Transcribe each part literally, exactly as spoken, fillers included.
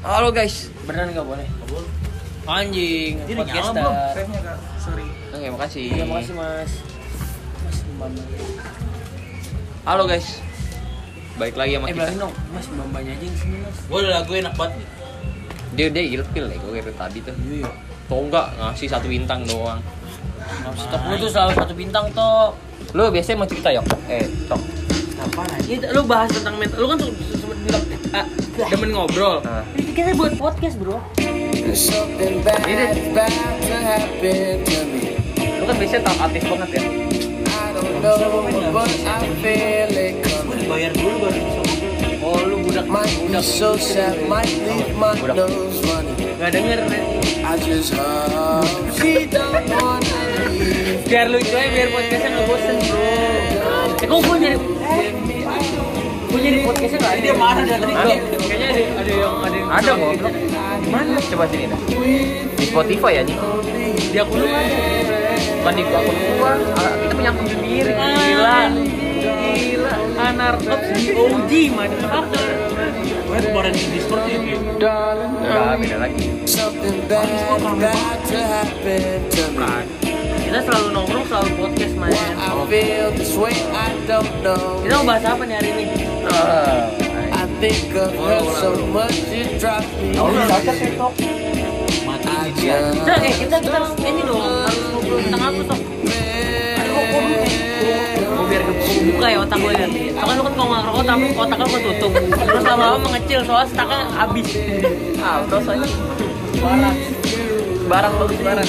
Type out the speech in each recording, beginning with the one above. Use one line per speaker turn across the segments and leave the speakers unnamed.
Halo guys.
Beneran nggak boleh?
Nggak boleh. Anjing.
Jadi
Podcast
nyala belum?
dah.
Vape-nya kak. Sorry.
Oke, makasih.
Iya makasih mas. Mas Mbamba.
Halo guys. Baik lagi sama
Eh
kita.
bilangin dong, mas Mbambanya aja yang sini mas.
Gue udah lagu enak banget nih.
Dia dia ilfil ya gue kayak tadi tuh.
Iya.
Tau nggak ngasih satu bintang doang.
Ngasih tok lu tuh selalu satu bintang tok.
Lu biasanya mau cerita yok? Eh, tok.
Apa aja? Lu bahas tentang mental. Lu kan tuh sempat bilang ah, demen ngobrol.
Nah.
Ini kita buat podcast bro.
Something bad about to happen to me.
Lu kan biasanya talkatif banget ya.
I don't know, but I feel it
Gue
coming.
dibayar dulu baru bisa ngobrol.
Oh lu budak
Might be
budak
so sad, might leave my nose running.
Gak denger.
I just hope she don't wanna leave.
Biar lucu aja, biar podcastnya nggak bosen bro. Eh kok gue nyari gue nyari podcastnya nggak ada.
Dia marah dari tadi.
Ada. Kayaknya ada ada yang ada yang
Ada goblok. Mana? Coba sini dah. Di Spotify ya nih.
Di akun lu ada.
Bukan di akun gua. Ah, kita punya akun sendiri. Gila.
Gila. Anartops di O G motherfucker.
Gue kemarin di Discord ya.
Enggak, beda lagi.
Something bad about to happen to me.
Kita selalu nongkrong, selalu podcast
Why
main.
I feel this way, I don't know.
Kita mau bahas apa nih hari ini?
Ah,
I think of her so much it drives me
Oh,
crazy.
cocok ya Tok.
Mati
I
ini dia.
just
Nah, eh kita kita ini dong harus ngobrol tentang apa Tok? Aduh, kok kok Mau biar kebuka ya otak gue kan. Soalnya lu kan kalau nggak ngerokok tapi otak lu ketutup. Terus lama-lama mengecil soalnya staknya habis.
ah, terus aja. Barang. Barang bagus barang.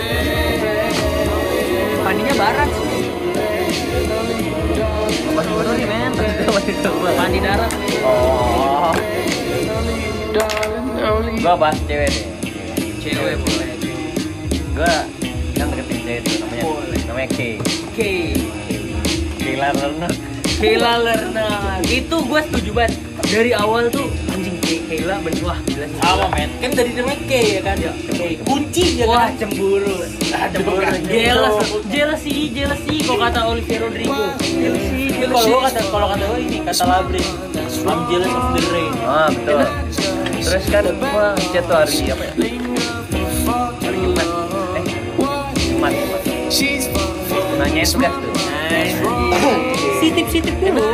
Mandinya barat.
Apa dulu nih, men?
Mandi darat.
Oh. Gua bahas cewek deh.
Cewek boleh.
Gua kan deketin cewek tuh namanya.
Boleh.
Namanya K.
Oke.
Kayla Lerner.
Kayla Lerner. Itu gue setuju banget. Dari awal tuh anjing Kay- Kayla bener wah gila sih.
Sama men. Kan dari namanya K ya kan. K. Kunci ya
Wah
kan.
cemburu.
Cemburu.
Jealous, jealousy, jealousy. Kok kata Olivia Rodrigo. Jealousy,
Kalau
jealousy.
gue kata kalau kata gue ini kata Labris. I'm jealous of the rain.
Ah, betul. Terus kan gua chat tuh hari apa ya? Hari Jumat. Eh, Jumat. Jumat.
She's
Nanyain tugas tuh.
Sitip-sitip dulu.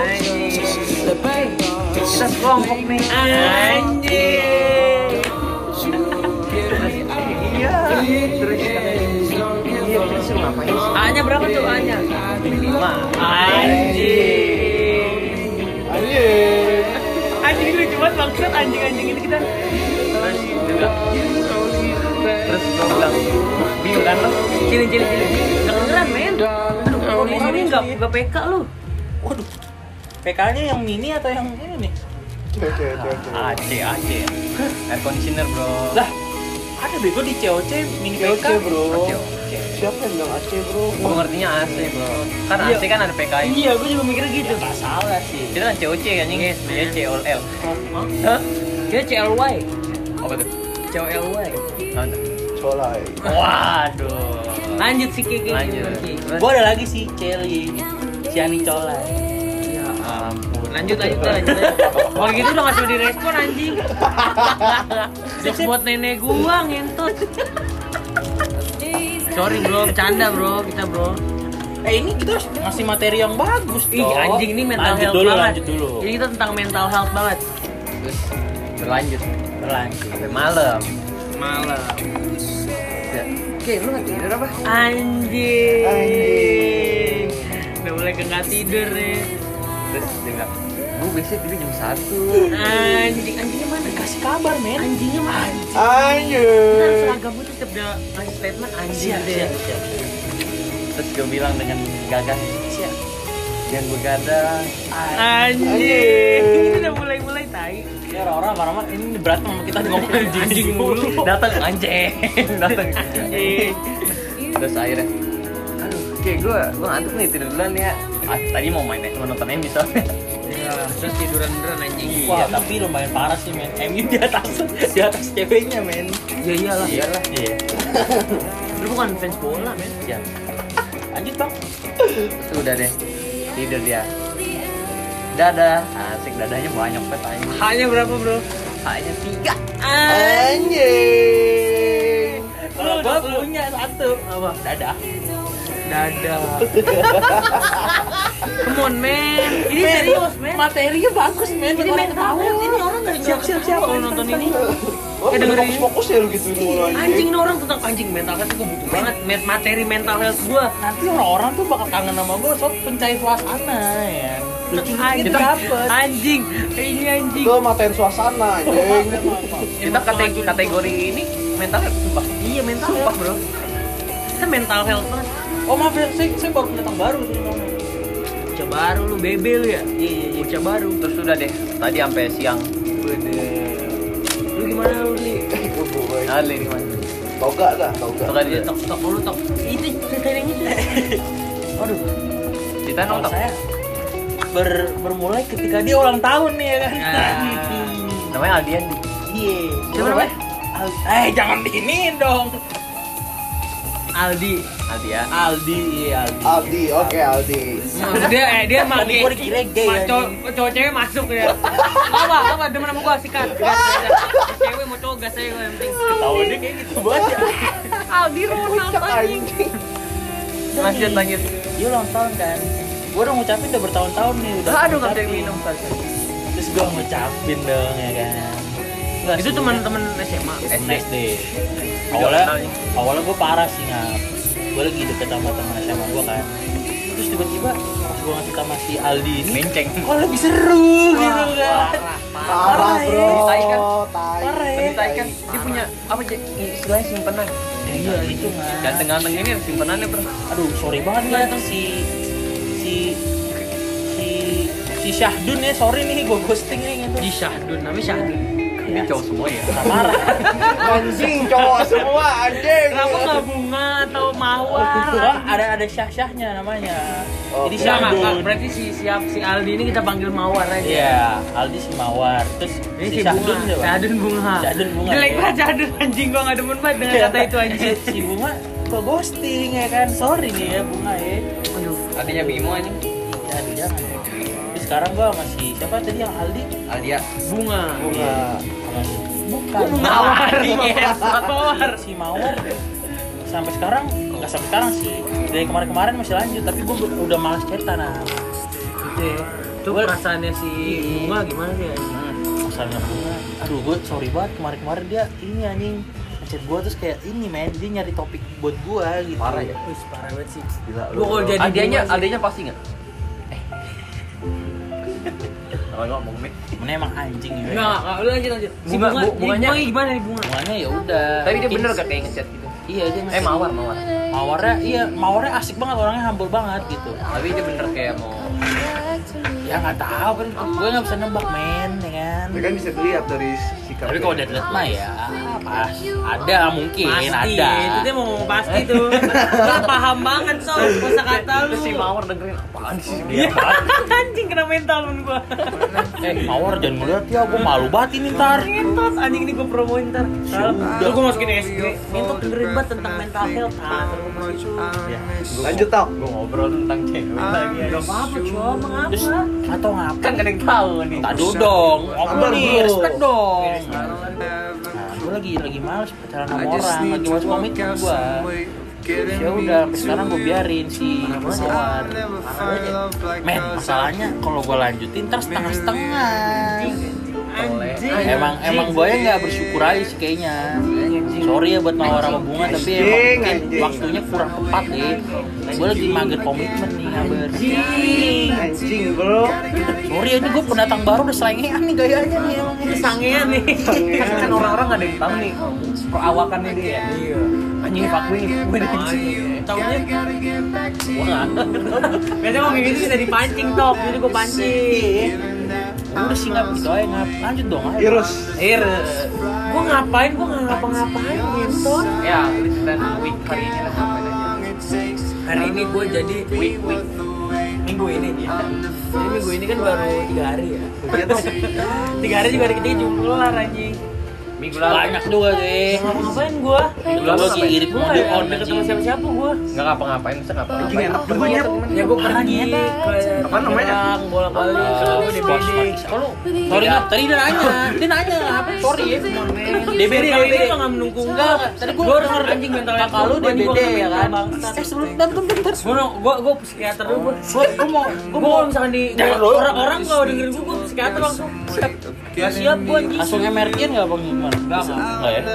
Kita sekelompok nih.
Anjing.
Iya. Terus iya terus lu ngapain sih?
A-nya berapa tuh A-nya?
Lima.
Anjing. Anjing ini lucu banget maksud anjing-anjing ini kita.
Terus dia bilang, terus gua bilang, bingung kan lo?
Cili cili cili. Kedengeran men. Aduh, di sini enggak enggak P K lu.
Waduh. P K-nya yang mini atau yang ini nih?
A C A C. Air conditioner bro.
Lah, ada bego di C O C mini P K.
bro.
Siapa yang bilang A C bro?
Gua ngertinya A C bro. Kan A C kan ada P K I.
Iya, gue juga mikirnya gitu.
Gak salah sih.
Kita kan C O C kan ini. Dia C O L.
Hah? Dia C L Y.
Apa tuh?
C O L Y.
Mana?
Colai.
Waduh.
Lanjut sih Kiki.
Lanjut. Terus?
Gue ada lagi sih Celi, si Ani Colai.
Ya ampun. Lanjut lanjut lanjut. Kalau gitu udah ngasih direspon anjing. Jokes buat nenek gua ngentot. Sorry bro, bercanda bro, kita bro.
Eh ini kita harus ngasih materi yang bagus.
Ih
toh.
anjing ini mental
lanjut
health
dulu,
banget.
Lanjut dulu.
Jadi kita tentang mental health banget.
Terus berlanjut
Berlanjut.
sampai malam.
Malam.
Ya. Oke, lu nggak tidur apa?
Anjing. Anjing. Udah mulai nggak tidur nih.
Terus dia bilang, gue biasanya tidur jam satu.
Anjing, anjingnya mana?
Kasih kabar men.
Anjingnya mana? Kita
Anjir.
harus seragam itu setiap dia ngasih statement anjing
Siap,
deh.
siap, siap.
Terus gue bilang dengan gagah, siap. Yang begadang.
Anjing. Ini udah mulai-mulai tai.
Ini orang-orang marah-marah ini berantem sama kita ngomong anjing.
Anjing mulu.
Datang anjing, datang.
Anjing.
Terus akhirnya, aduh, kayak gue, gue ngantuk nih tidur duluan ya. Ah, tadi mau main, mau nonton M U soalnya.
Ya, terus tiduran beneran anjing.
Wah, tapi lumayan parah sih men. M U di atas di atas ceweknya men.
Ya iyalah.
Iyalah.
Iya.
Lu bukan fans bola, men.
Siap.
Lanjut bang.
Terus udah deh, tidur dia. Dadah, asik dadanya banyak banget anjing.
Hanya berapa, Bro?
H H-nya tiga.
Anjing.
Kalau gua punya satu.
Apa?
Dadah.
Dada. Come on man. Ini
Men,
serius man.
Materinya bagus, men.
Ini mental health. Ini orang nggak siap siap siap kalau nonton ini.
Oh,
Eh, dengerin
fokus fokus ya lu gitu mulu
Anjing nih orang tentang anjing mental health gue butuh banget Met- materi mental health gue.
Nanti orang-orang tuh bakal kangen sama gua soal pencair suasana ya.
Anjing,
Kita dapet.
anjing, ini anjing.
Itu materi suasana anjing.
Kita kategori, kategori ini mental health sumpah.
Iya mental
Sumpah
health.
bro.
Kita mental health banget.
Oh maaf ya, saya, saya baru pendatang baru sih.
Bocah baru lu bebe lu ya.
Iya iya iya.
Bocah baru.
Terus udah deh. Tadi sampai siang.
Lu gimana lu li?
Ali gimana?
Toga dah, toga.
Toga dia.
Tok tok lu tok. Itu cerita yang itu. Aduh.
Kita
Kalau
nonton.
saya ber, bermulai ketika dia ulang tahun nih ya kan.
Namanya Aldian.
Iya.
Siapa namanya?
Al- eh jangan diinin dong.
Aldi.
Aldian.
Aldi, iya Aldi.
Aldi, oke Aldi.
Maksud dia eh dia
Tadi
pakai
gua dikira gay,
Ma- cowok
anjing.
cowok cewek masuk ya. Apa apa demen sama gua sikat. Gas, gas. Cewek mau cowok gas aja gua yang penting.
Tahu dia kayak gitu banget ya.
Aldi Ronald anjing.
Lanjut lanjut.
Dia ulang tahun kan. Gua udah ngucapin udah bertahun-tahun nih udah.
Aduh nggak bisa
ngucapin.
minum kali.
Terus gua ngucapin dong ya kan. Nggak
Itu
sih,
teman-teman S M A.
S D.
S D. Awalnya awalnya gua parah sih ngap. Gua lagi deket sama teman S M A gua kan. Terus tiba-tiba pas gua ngasih sama si Aldi ini
Menceng.
kok lebih seru gitu kan.
Parah, bro.
Tai kan?
Tai.
Parah ya.
Pendidikan kan dia punya apa sih istilahnya simpenan.
Iya itu mah.
Ganteng-ganteng ini simpenannya bro.
Aduh sorry banget ya si si si si Syahdun ya, sorry nih gue ghosting nih gitu.
Di Syahdun, namanya Syahdun.
Ini cowok semua ya.
Nggak marah.
Anjing cowok semua anjing.
Kenapa nggak bunga atau mawar?
Wah, ada ada syah-syahnya namanya.
Oh,
Jadi
Siapa nggak?
Syahdun.
Berarti si siap si Aldi ini kita panggil mawar aja.
Iya, Aldi si Mawar. Terus
Ini
si
si
Syahdun
bunga.
siapa?
Syahdun bunga.
Syahdun bunga.
Jelek
ya.
banget Syahdun anjing gua nggak demen banget dengan kata itu anjing.
si bunga kok ghosting ya kan. Sorry nih ya bunga ya.
Aduh.
Adanya Bimo aja.
Ya aduh jangan. Tapi sekarang gua masih siapa tadi yang Aldi?
Aldia.
Bunga.
Bunga.
Sama si bukan
Mawar. Iya, mawar.
si Mawar sampai sekarang nggak sampai sekarang sih, dari kemarin-kemarin masih lanjut, tapi gue udah malas cerita nah gitu ya.
Itu perasaannya si bunga gimana sih?
Masalahnya bunga, aduh gue sorry banget kemarin-kemarin dia ini anjing ngechat gue terus kayak ini men, dia nyari topik buat gue gitu.
Parah ya.
Wih, parah banget sih.
Gila
Gua kalau jadi
Aldianya,
bunga sih-
Aldianya pasti nggak? Eh. Kalau ngomong nih.
Mana emang anjing ya.
Enggak, enggak, lu lanjut lanjut. Si
Bunga-
bunga,
bu- bunganya-
bunganya gimana nih bunga?
Bunganya ya udah.
Tapi dia
mungkin-
bener gak kayak ngechat gitu?
Iya dia
Eh
ngasih-
mawar mawar.
Mawarnya iya, mawarnya asik banget, orangnya humble banget gitu.
Tapi dia bener kayak mau.
Ya nggak tahu kan, gue nggak bisa nembak men, ya kan.
Itu kan bisa dilihat dari sikap.
Tapi kalau udah lihat mah ya pas ada mungkin
Pasti,
ada.
itu dia mau ngomong pasti tuh. Lu paham banget soal kosakata lu.
Terus si mawar dengerin apaan sih
Iya,
dia?
anjing kena mental men gua.
Eh Mawar jangan ngeliat ya, gue malu banget ini ntar.
Ngentot anjing ini gua promoin ntar.
Sudah.
Lu gua masukin S G. Ngentot dengerin banget tentang mental health. Ah, ntar gua masukin.
Ya.
Lanjut tau.
Gue ngobrol tentang cewek lagi.
Gak apa-apa, cuma mengapa?
Terus atau ngapa?
Kan gak ada yang tahu nih.
Tak dulu dong, ngobrol
Sabar,
nih,
bro.
respect dong. Nah, gue lagi lagi males pacaran sama orang, lagi males komitmen gue. Terus ya udah, sampai sekarang gue biarin si Mawar. Men, masalahnya kalau gue lanjutin ntar setengah-setengah.
Anjing.
Emang emang gue ya nggak bersyukur aja sih kayaknya. Sorry ya buat Mawar sama Bunga, tapi emang
Anjing,
mungkin
anjing.
waktunya kurang tepat deh. Gue lagi mager komitmen nih, ngabar.
Anjing bro.
Sorry ya, ini gue pendatang baru udah selengean nih gayanya nih emang.
Sangean nih.
Kan, kan orang-orang gak ada yang tahu nih perawakannya dia. Iya. Anjing fuckboy nih, gue nih.
Taunya
Gua nggak.
biasanya ngomong gitu bisa dipancing tok, jadi gua pancing.
Udah sih ngap gitu aja ngap. Lanjut dong ayo.
Irus.
Ir.
Gua ngapain? Gua nggak ngapa-ngapain gitu.
Ya, listeran week hari ini lah ngapain aja.
Hari ini gua jadi
Week week.
minggu ini ya. Jadi minggu ini kan baru tiga hari ya. Tiga hari juga hari ketiga jumlah kelar anjing.
Minggu lalu.
Banyak juga deh.
Ngapain gua?
Minggu
Gua
lalu
lagi
ngapain?
irit
Gua
mobil
nggak
on
ada ketemu
anjing.
siapa-siapa gua.
Nggak ngapa-ngapain, masa ngapa-ngapain?
Anjing enak banget.
Ya gue pergi ke
Apa namanya?
Bola-balik
Oh,
di
di
pos.
pos.
Kalau
Sorry Ngap, tadi dia nanya. Dia nanya apa? Sorry ya. D B D,
kalau
D B D.
dia nggak mendukung
Enggak,
gua.
tadi gua
Gua
denger
anjing mental
kakak lu D B D ya kan. Eh sebelum bentar bentar.
Gua gua gua psikiater dulu gua.
Gua gua mau
Gua mau misalkan di
Jangan dulu.
orang-orang kalau dengerin gua, gua psikiater langsung. Siap. Gak siap gua anjing.
langsung M R T-an enggak Bang Iman? Enggak, enggak ya.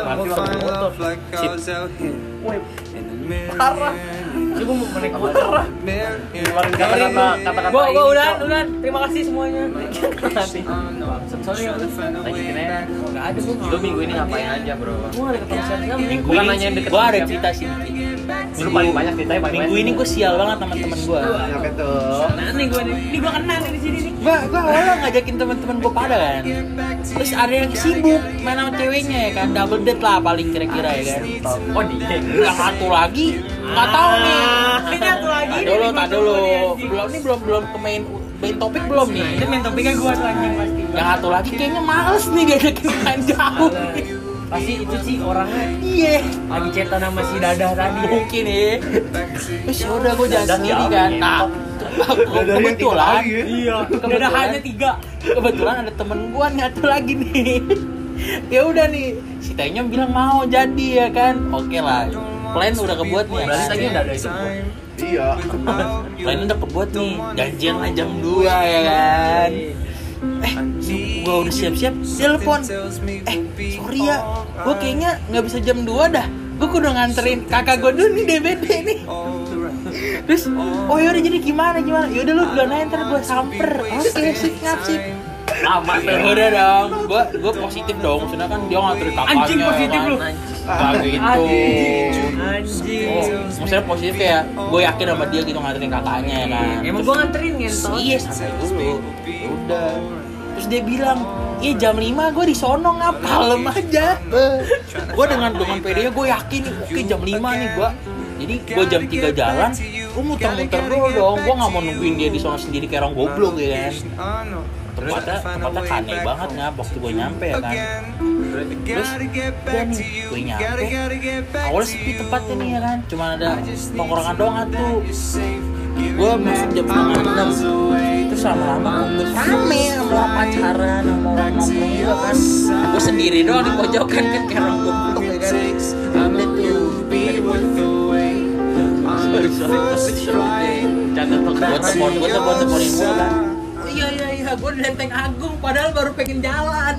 Parah.
Ini gua mau naik motor lah.
Keluarin kata-kata kata-kata
Gua gua
ini,
udah
Cok.
udah. Terima kasih semuanya. Sorry ya.
Lanjutin aja.
Enggak ada gua.
Lu minggu ini ngapain aja, Bro?
Gua enggak ada ketemu siapa-siapa.
Minggu
Bukan
ini
nanya yang deket
gua
sama
ada
siapa.
cerita sih dikit.
Lu paling banyak ceritanya paling
Minggu
banyak.
ini gua sial banget sama teman gua.
Kenapa tuh?
Nah, nih gua nih. Ini gua kenal nih di sini nih.
Gua gua awalnya ngajakin teman-teman gua pada kan. Terus ada yang sibuk main sama ceweknya ya kan, double date lah paling kira-kira ya kan.
Oh, dia.
Yang satu lagi nggak tahu nih.
Ini satu lagi.
Tak dulu, tak dulu. Belum nih belum belum ke main main topik belum nih.
Itu main topiknya gua tuh anjing pasti.
Yang satu lagi kayaknya males nih diajakin main jauh.
Pasti itu sih orangnya
Iya.
lagi cetan sama si Dadah tadi.
Mungkin ya. Terus ya udah gue jalan
Dan
sendiri
siapa
kan.
nih?
Nah, kebetulan,
Iya. Dadahannya tiga.
kebetulan ada temen gue nih satu lagi nih. Ya udah nih, si Tanya bilang mau jadi ya kan. Oke lah. Plan udah kebuat nih.
Berarti
kan?
tadi udah ada itu.
Iya.
Plan udah kebuat nih. Janjian lah jam dua ya kan. Eh, gua udah siap-siap, telepon. Eh, sorry ya, gua kayaknya nggak bisa jam dua dah. Gua udah nganterin kakak gua dulu nih D B D nih. Terus, oh yaudah jadi gimana gimana? Yaudah lu duluan aja ntar gua samper. Oke, sip ngap sip.
Lama
Ya udah dong, gua gua positif dong. Maksudnya kan dia nganterin kakaknya.
Anjing positif
kan.
lu.
Gak gitu.
Anjing.
Oh, maksudnya positif kayak gue yakin sama dia gitu nganterin kakaknya ya kan.
Emang gua nganterin ngentot.
Iya santai dulu. Ya udah. Terus dia bilang, iya jam lima gue di sono ngap kalem aja. Gue dengan dengan pedenya gue yakin nih, oke jam lima nih gue. Jadi gue jam tiga jalan, gue muter-muter dulu dong. Gue nggak mau nungguin dia di sono sendiri kayak orang goblok ya kan. Tempatnya tempatnya aneh banget ngap waktu gue nyampe ya kan. Terus udah nih gue nyampe, awalnya sepi tempatnya nih ya kan. Cuma ada tongkrongan doang tuh. Gue masuk jam setengah enam. Terus lama-lama rame sama orang pacaran, sama orang nongkrong juga kan. Gue sendiri doang di pojokan kan kayak orang goblok ya kan. Udah tuh. Sorry sorry sorry.
Jangan
Gue
telepon.
telepon, gue telepon teleponin gue kan. Oh iya iya iya, gue di Lenteng Agung padahal baru pengen jalan.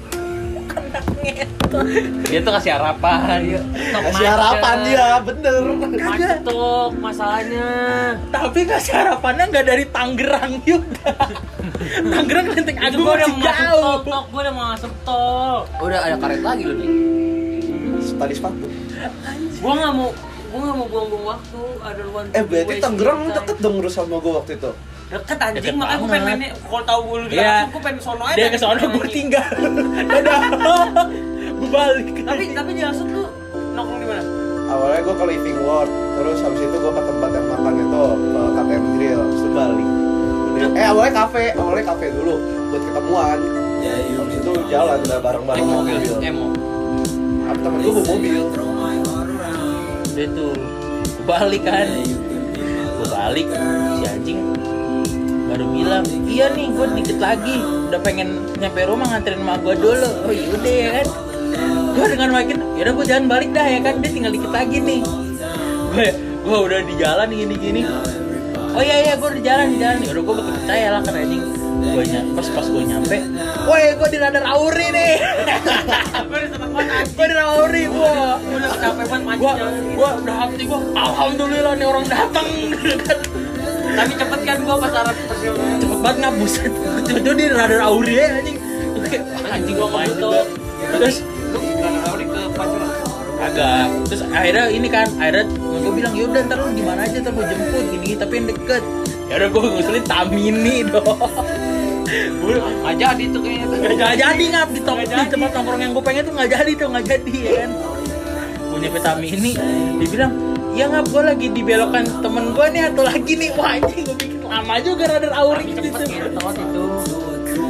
Dia tuh kasih harapan.
Kasih harapan dia, bener.
Macet tuh masalahnya.
Tapi kasih harapannya nggak dari Tangerang juga. Tangerang Lenteng
Itu
Agung
gua udah
masih
mau masuk tol,
jauh.
tok. Gua udah mau masuk tol.
Udah ada karet lagi lu nih.
Tali sepatu.
Gua nggak mau, gua nggak mau buang-buang waktu. Ada ruang.
Eh berarti Tangerang deket dong urus sama gue waktu itu.
Deket anjing,
Deket
makanya gua
banget.
pengen main. Kalau tahu gua lu di
Iya.
Tangerang, gua pengen sono aja.
Dia ke sono gue tinggal. Dadah. Gue balik.
Tapi tapi jelasnya tuh nongkrong di mana?
Awalnya gue ke Living World, terus habis itu gue ke tempat yang makan itu, ke K T M Grill, terus itu balik. Udah- Eh awalnya kafe, awalnya kafe dulu buat ketemuan. Habis itu jalan udah bareng-bareng
Emo,
mobil.
emo.
Apa temen gue bawa mobil.
Udah tuh. Gue balik kan. Gue balik si anjing baru bilang, iya nih gue dikit lagi udah pengen nyampe rumah nganterin emak gue dulu. Oh yaudah ya kan. Gue dengan makin, yaudah gue jalan balik dah ya kan. Dia tinggal dikit lagi nih. Gue gue udah di jalan gini-gini. Oh iya iya gue di jalan di jalan. Yaudah gue bakal percaya lah kan anjing. Gue ny- pas pas gue nyampe, woi gue di Radar Auri nih.
Gua udah seneng banget anjing.
Gue di Radar Auri gue.
Gua udah capek banget macet
Gua
jalan.
gua udah hati gua alhamdulillah nih orang datang.
Tapi cepet kan gua pas arah persiapan.
Cepet banget ngabuset. Tiba-tiba di Radar Auri ya anjing. Anjing gua main juga. Terus
Lu nggak tahu nih ke Pancoran.
agak terus akhirnya ini kan akhirnya gue bilang yaudah ntar lu di mana aja ntar gue jemput gini tapi yang deket. Ya udah gue ngusulin Tamini dong. Gue
Nggak jadi tuh kayaknya tuh.
nggak jadi ngap di top di tempat nongkrong yang gue pengen tuh nggak jadi tuh nggak jadi ya kan. Gue nyampe Tamini dia bilang ya ngap gue lagi dibelokan temen gue nih atau lagi nih wah anjing gue bikin lama juga Radar Auri gitu.
Cepet ngentot itu.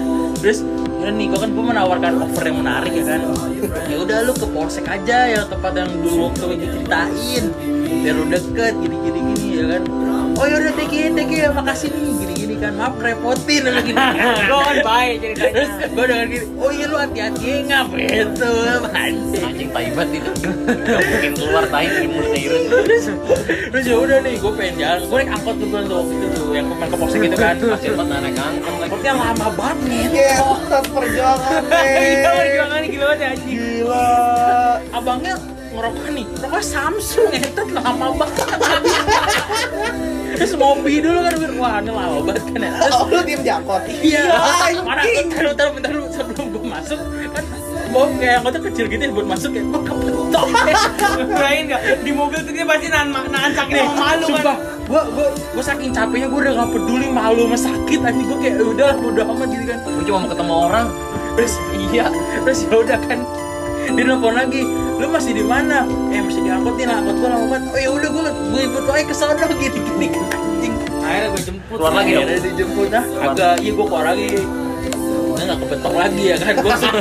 Terus udah nih, gue kan gue menawarkan offer yang menarik ya kan. Ya udah lu ke Polsek aja ya, tempat yang dulu waktu diceritain, biar lu deket gini-gini gini ya kan. Oh yaudah thank you, thank you ya, makasih nih gini-gini kan, maaf repotin dan gini.
Gue kan baik ceritanya.
Terus gue dengan gini, oh iya lu hati-hati ngap itu anjing.
Anjing taibat itu. Gak mungkin keluar tai dari mulutnya Irun.
Terus terus ya udah nih, gue pengen jalan, gue naik angkot tuh waktu itu tuh, yang kemarin ke Polsek itu kan.
Masih buat naik angkot lagi.
Angkotnya lama banget nih.
Iya, tas perjuangan
Iya,
nih.
perjuangannya gila banget ya anjing.
Gila.
Abangnya ngerokok nih, rokok Samsung ngetet lama banget. Terus mobil dulu kan, wah ini lama banget kan ya. Terus
Oh, lu diem jangkot.
iya, mana taruh taruh bentar dulu sebelum gue masuk kan, mau kayak angkotnya kecil gitu ya buat masuk ya, gue kebetok.
Kirain nggak di mobil tuh dia pasti nahan nahan sakit sama malu kan.
Sumpah, gue gue gue saking capeknya gue udah gak peduli malu sama sakit anjing, gue kayak udah udah amat gitu kan.
Gue cuma mau ketemu orang.
Terus iya, terus ya udah kan, dia nelfon lagi, lu masih di mana? Eh masih diangkut nih, angkot gua lama banget. Oh ya udah, gua gua ikut aja ke sana gini gini kan anjing.
Akhirnya gue jemput.
Keluar lagi dong.
Akhirnya dijemput dah. Agak iya gua keluar lagi. Udah nggak kebetok lagi ya kan, gua langsung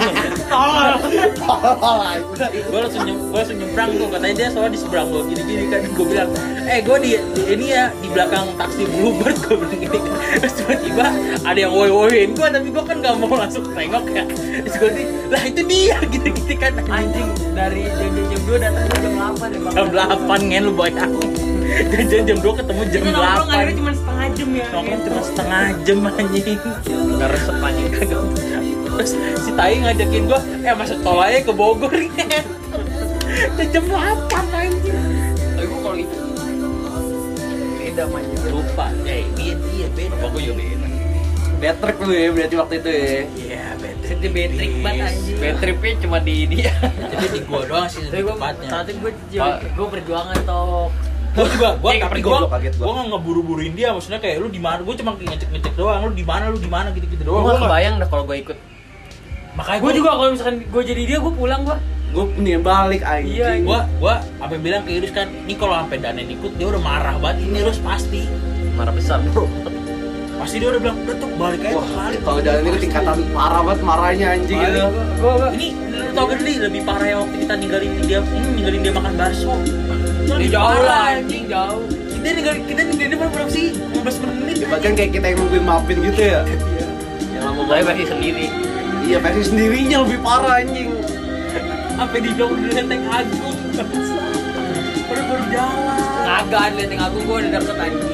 gua langsung nyem, gua langsung nyebrang tuh, katanya dia soalnya di seberang gua gini gini kan, gua bilang eh gua di, di ini ya di belakang taksi Bluebird, gua bilang gini kan. Terus tiba-tiba ada yang woi-woin gua, tapi gua kan nggak mau langsung nengok ya. Terus gua nih, lah itu dia gitu-gitu kan
Anjing dari jam jam dua datang jam delapan ya bang.
jam delapan ngen lu bayang. Janjian jam dua ketemu jam
Itu nongkrong
delapan.
akhirnya cuma setengah jam ya.
Nongkrong cuma setengah jam anjing.
Gak resep anjing.
Terus si Tai ngajakin gua, eh masuk tol aja ke Bogor ngen. Udah jam delapan anjing.
Tapi gue kalau itu
Beda manjir.
Lupa. Eh, iya iya beda.
apa gue juga beda. Bad trip lu ya berarti waktu itu ya.
Iya, beda.
Jadi betrik banget anjing.
Bad tripnya cuma di dia.
Jadi di gua doang sih
Tapi gue
tempatnya.
saat itu gue
Pak.
gue perjuangan toh.
Gua juga, gua
Eh,
tapi
gua
gua
gua kaget gua.
gua nggak ngeburu-buruin dia, maksudnya kayak lu di mana, gua cuma ngecek-ngecek doang, lu di mana, lu di mana gitu-gitu
Gue
doang.
gak
Gua nggak-
kebayang dah kalau gue ikut.
Makanya
Gue juga kalau misalkan gue jadi dia gue pulang gue.
Gue nih balik anjing.
Iya,
gua gua apa bilang ke Iris kan, ini kalau sampai Danen ikut dia udah marah banget, ini Iris pasti
Marah besar bro.
pasti dia udah bilang udah tuh balik aja
Wah,
balik.
kalau jalan ini tingkatan parah banget marahnya anjing
Balik.
gitu.
Gue gue
Ini lu tau gak nih lebih parah ya waktu kita ninggalin dia, ini ninggalin dia makan bakso. Itu
Ya
lebih
jauh
parah,
lah anjing jauh.
Kita ninggalin kita ninggalin dia berapa sih? lima belas menit.
Bahkan kayak kita yang nungguin maafin gitu ya.
Yang lama banget versi sendiri.
Iya, versi sendirinya lebih parah anjing.
Sampai di jauh di Lenteng Agung. Baru baru jalan.
Naga lihat yang aku gue udah deket anjing.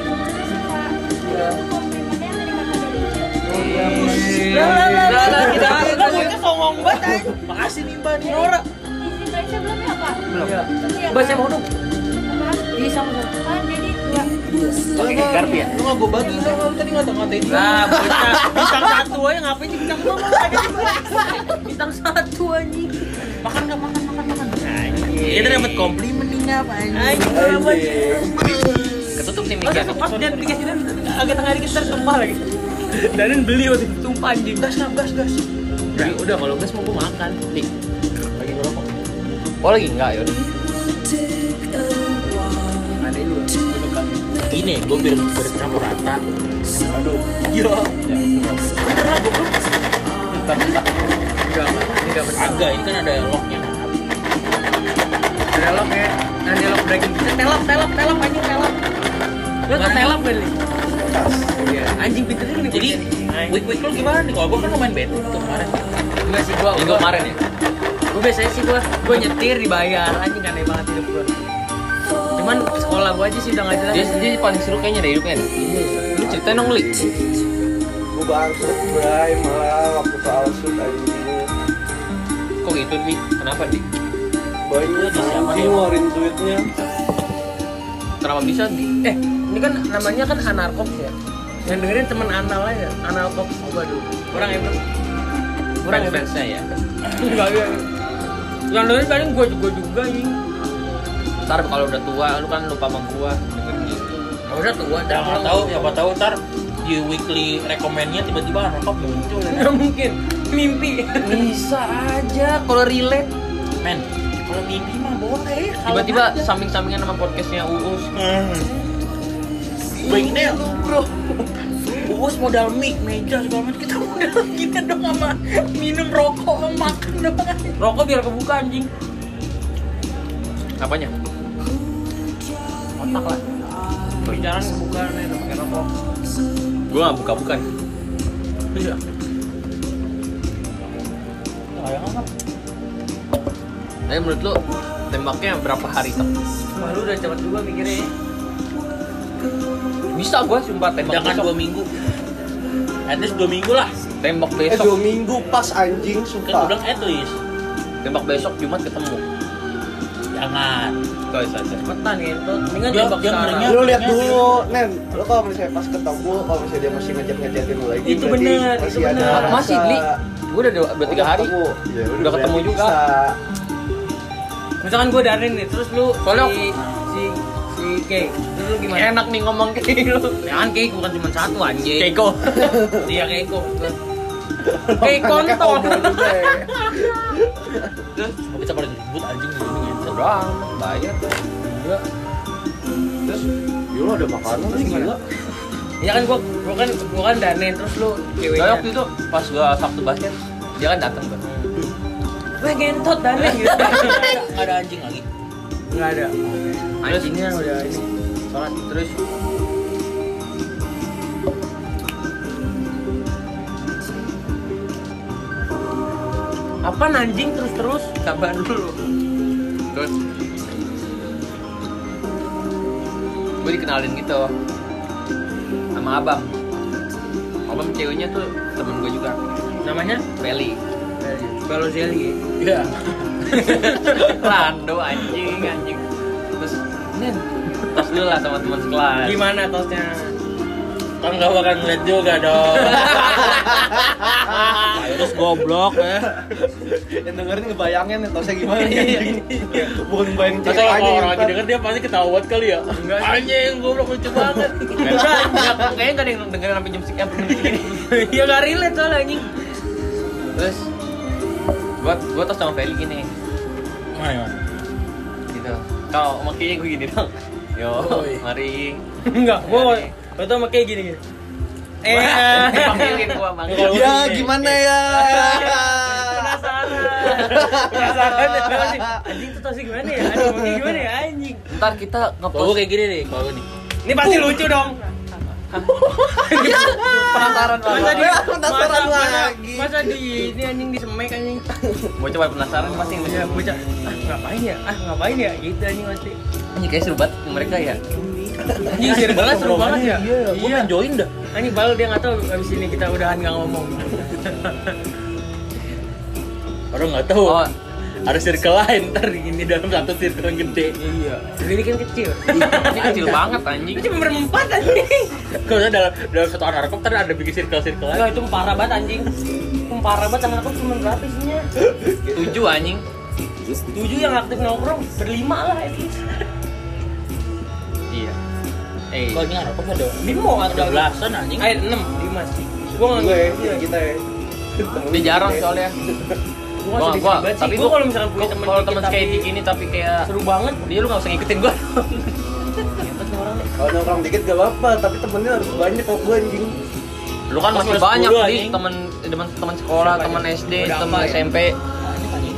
Lah lah lah lah lah kita
Lah,
kita
lah,
bocah songong banget anjing. Makasih nih Mbak nih Nora.
Isi Indonesia belum ya Pak?
Belum.
Iya,
Baca mau dong.
Apa?
Iya sama sama.
Kan jadi dua.
Pakai kartu ya.
Lu nggak gue bagi, lu nggak tadi ngata-ngatain dia.
Nah, bocah bintang satu aja ngapain sih bintang dua mau aja bintang satu anjing.
Makan nggak makan makan makan. Kita dapat komplimen nih nggak apa anjing.
Anjing apa sih?
Ketutup nih
Oh,
miknya.
pas dia dikasih dan agak tengah dikit ntar tumpah lagi. Dan beli waktu itu tumpah anjing.
Gas gas gas gas.
Udah, udah kalau gas mau gue makan.
Nih.
Lagi ngerokok.
Oh lagi enggak ya?
Ada dulu.
Ini gue biar bercampur rata. Aduh. Iya.
Enggak, enggak. Ini enggak betul.
Agak ini kan ada locknya.
Ada lock ya. Ada lock breaking. Eh, telap, telap, telap anjing telap. Lu tau telap gak nih? Iya, anjing pintunya gini.
Jadi week week lu gimana nih? Kalau gue kan main bed tuh kemarin.
Enggak sih gua.
Minggu kemarin ya.
Gue biasanya sih gua gua nyetir dibayar. Anjing aneh banget hidup gua. Cuman sekolah gua aja sih udah enggak jelas.
Dia dia paling seru kayaknya dari hidupnya. nih. Lu ceritain dong Li.
Gue bangsat Bray malah waktu ke Alsut anjing.
Kok gitu Li? Kenapa Di?
Banyak anjing ngeluarin duitnya.
Kenapa bisa Di?
Eh, ini kan namanya kan anarkops ya. Yang dengerin temen anal aja, analkops. Waduh, kurang ya bro. Kurang ya bro.
Fansnya ya.
Enggak ya. Yang dengerin paling gua juga juga ini.
Ntar kalau udah tua lu kan lupa sama gua. Dengerin gitu.
Ya udah tua,
Ya
dah
nggak tahu, siapa tahu ntar di weekly recommendnya tiba-tiba rekop muncul ya.
Nggak mungkin. Mimpi.
Bisa aja kalau relate.
Men, kalau mimpi mah boleh.
Tiba-tiba samping-sampingan sama podcastnya Uus.
Baik deh lu bro. Bos modal mic, meja segala macam kita modal kita dong sama minum rokok, sama makan doang.
Rokok biar kebuka anjing.
Apanya?
Otak lah. Pembicaraan kebuka nih udah pakai rokok.
Gua nggak buka-bukan.
Iya. Sayang apa?
Tapi menurut lu tembaknya berapa hari tuh?
Wah, lu udah cepet juga mikirnya.
Bisa gua sumpah tembak
Jangan
besok.
dua minggu. At least dua minggu lah.
Tembak
Eh
besok.
dua minggu pas anjing
Kan gue
sumpah.
bilang at least.
Tembak besok Jumat ketemu.
Jangan.
Guys aja.
Cepetan gitu. Mendingan
Dia-
tembak
dia
sekarang.
ngerinya-
Lu lihat dulu, Nen. Lu kalau misalnya pas ketemu, kalau misalnya dia masih ngejat-ngejatin lu lagi,
Itu
berarti
bener,
masih
itu
ada
bener.
rasa-
Masih Gli. Gua udah dua, udah tiga hari.
ketemu. Ya,
Udah ketemu
berarti
juga.
bisa.
Misalkan gue darin nih, terus lu
Soalnya
si si si Kay, terus lu gimana?
Enak nih ngomong kayak lu.
Jangan Kay, bukan cuma satu anjing.
Keiko.
Iya Keiko. Kay
Anaknya
kontol.
homo juga ya.
Gak bisa pada ribut anjing gini gitu.
Doang, bayar.
Enggak.
Terus, ya lu ada makanan sih gila.
Ya kan gua gua kan gua kan darin terus lu
Soalnya
ceweknya.
waktu itu pas gua Sabtu basket, dia kan datang kan.
Gue gentot darin gitu.
Enggak ada anjing lagi.
Enggak ada. Anjingnya udah ini.
Sholat terus
Apa anjing terus-terus? Sabar dulu.
terus gue dikenalin gitu sama abang. Abang ceweknya tuh temen gue juga,
Namanya
Feli.
Balotelli.
Iya.
Rando anjing anjing. Terus Nen, tos dulu lah sama teman sekelas.
Gimana tosnya?
Kan gak bakal ngeliat juga dong. Terus goblok ya.
Yang dengerin ngebayangin nih, tosnya gimana nih anjing. Bukan bayangin
Masa
cewek aja
kalau orang
yang
lagi
ntar.
denger dia pasti ketawa banget kali ya. Anjing goblok lucu banget.
Enggak, kayaknya gak ada yang dengerin sampai jam sekian begini.
Ya gak relate soalnya anjing.
Terus gua gua tos sama Feli gini,
Mana mana?
gitu. Kalau makanya gue gini dong. Yo,
Oi.
mari.
Enggak, gua gua tuh sama kayak gini gini. Eh,
Dipanggilin gua bang.
Ya gimana ya?
penasaran. Penasaran ya anjing. Anjing tuh tosnya gimana ya? Anjing pakai gimana ya anjing?
Ntar kita
Kalau gue
ngepost
kayak gini nih, kalau gue nih.
Ini pasti lucu dong.
penasaran
Masa di
Ya, penasaran
masa, masa,
lagi.
masa di ini anjing di semek anjing.
Mau coba penasaran pasti
Ya bocah. Ah, ngapain ya? Ah, ngapain ya? Gitu anjing pasti.
Ini kayak seru banget mereka ya.
Anjing seru banget, seru banget ya.
Iya, gue pengen join dah.
Anjing baru dia enggak tahu abis ini kita udahan enggak ngomong.
Orang nggak tahu.
Oh.
Ada circle lain ntar ini dalam satu circle yang gede.
Iya. Ini kan kecil.
Ini kecil banget anjing.
Itu cuma berempat anjing.
Kalau dalam dalam satu anak ntar ada bikin circle circle lain.
Enggak, itu parah banget anjing. Itu parah banget anak aku cuma berapa isinya?
Tujuh anjing.
Tujuh yang aktif nongkrong, berlima lah at least.
Iya. Eh,
Kalau ini anak ada
Lima atau
ada belasan anjing.
Eh, enam, lima sih. Gua nggak
Gue ya,
ngerti.
kita ya.
dia jarang soalnya.
Gua
Gua,
sedih
gua,
banget sih.
tapi
Gua
gua
kalau misalkan punya
gua-
temen
kalau
dikit
temen
tapi
kayak gini tapi kayak
seru banget.
dia lu nggak usah ngikutin gua.
Hebat nih orang nih.
Kalau nongkrong dikit gak apa-apa, tapi temennya harus banyak kok gue anjing.
Lu kan
Pas
masih
kelas
banyak
sepuluh,
nih
anjing.
teman teman teman sekolah,
Siapa
teman
aja?
S D,
Udah
teman
apa ya?
S M P,
Banyak anjing.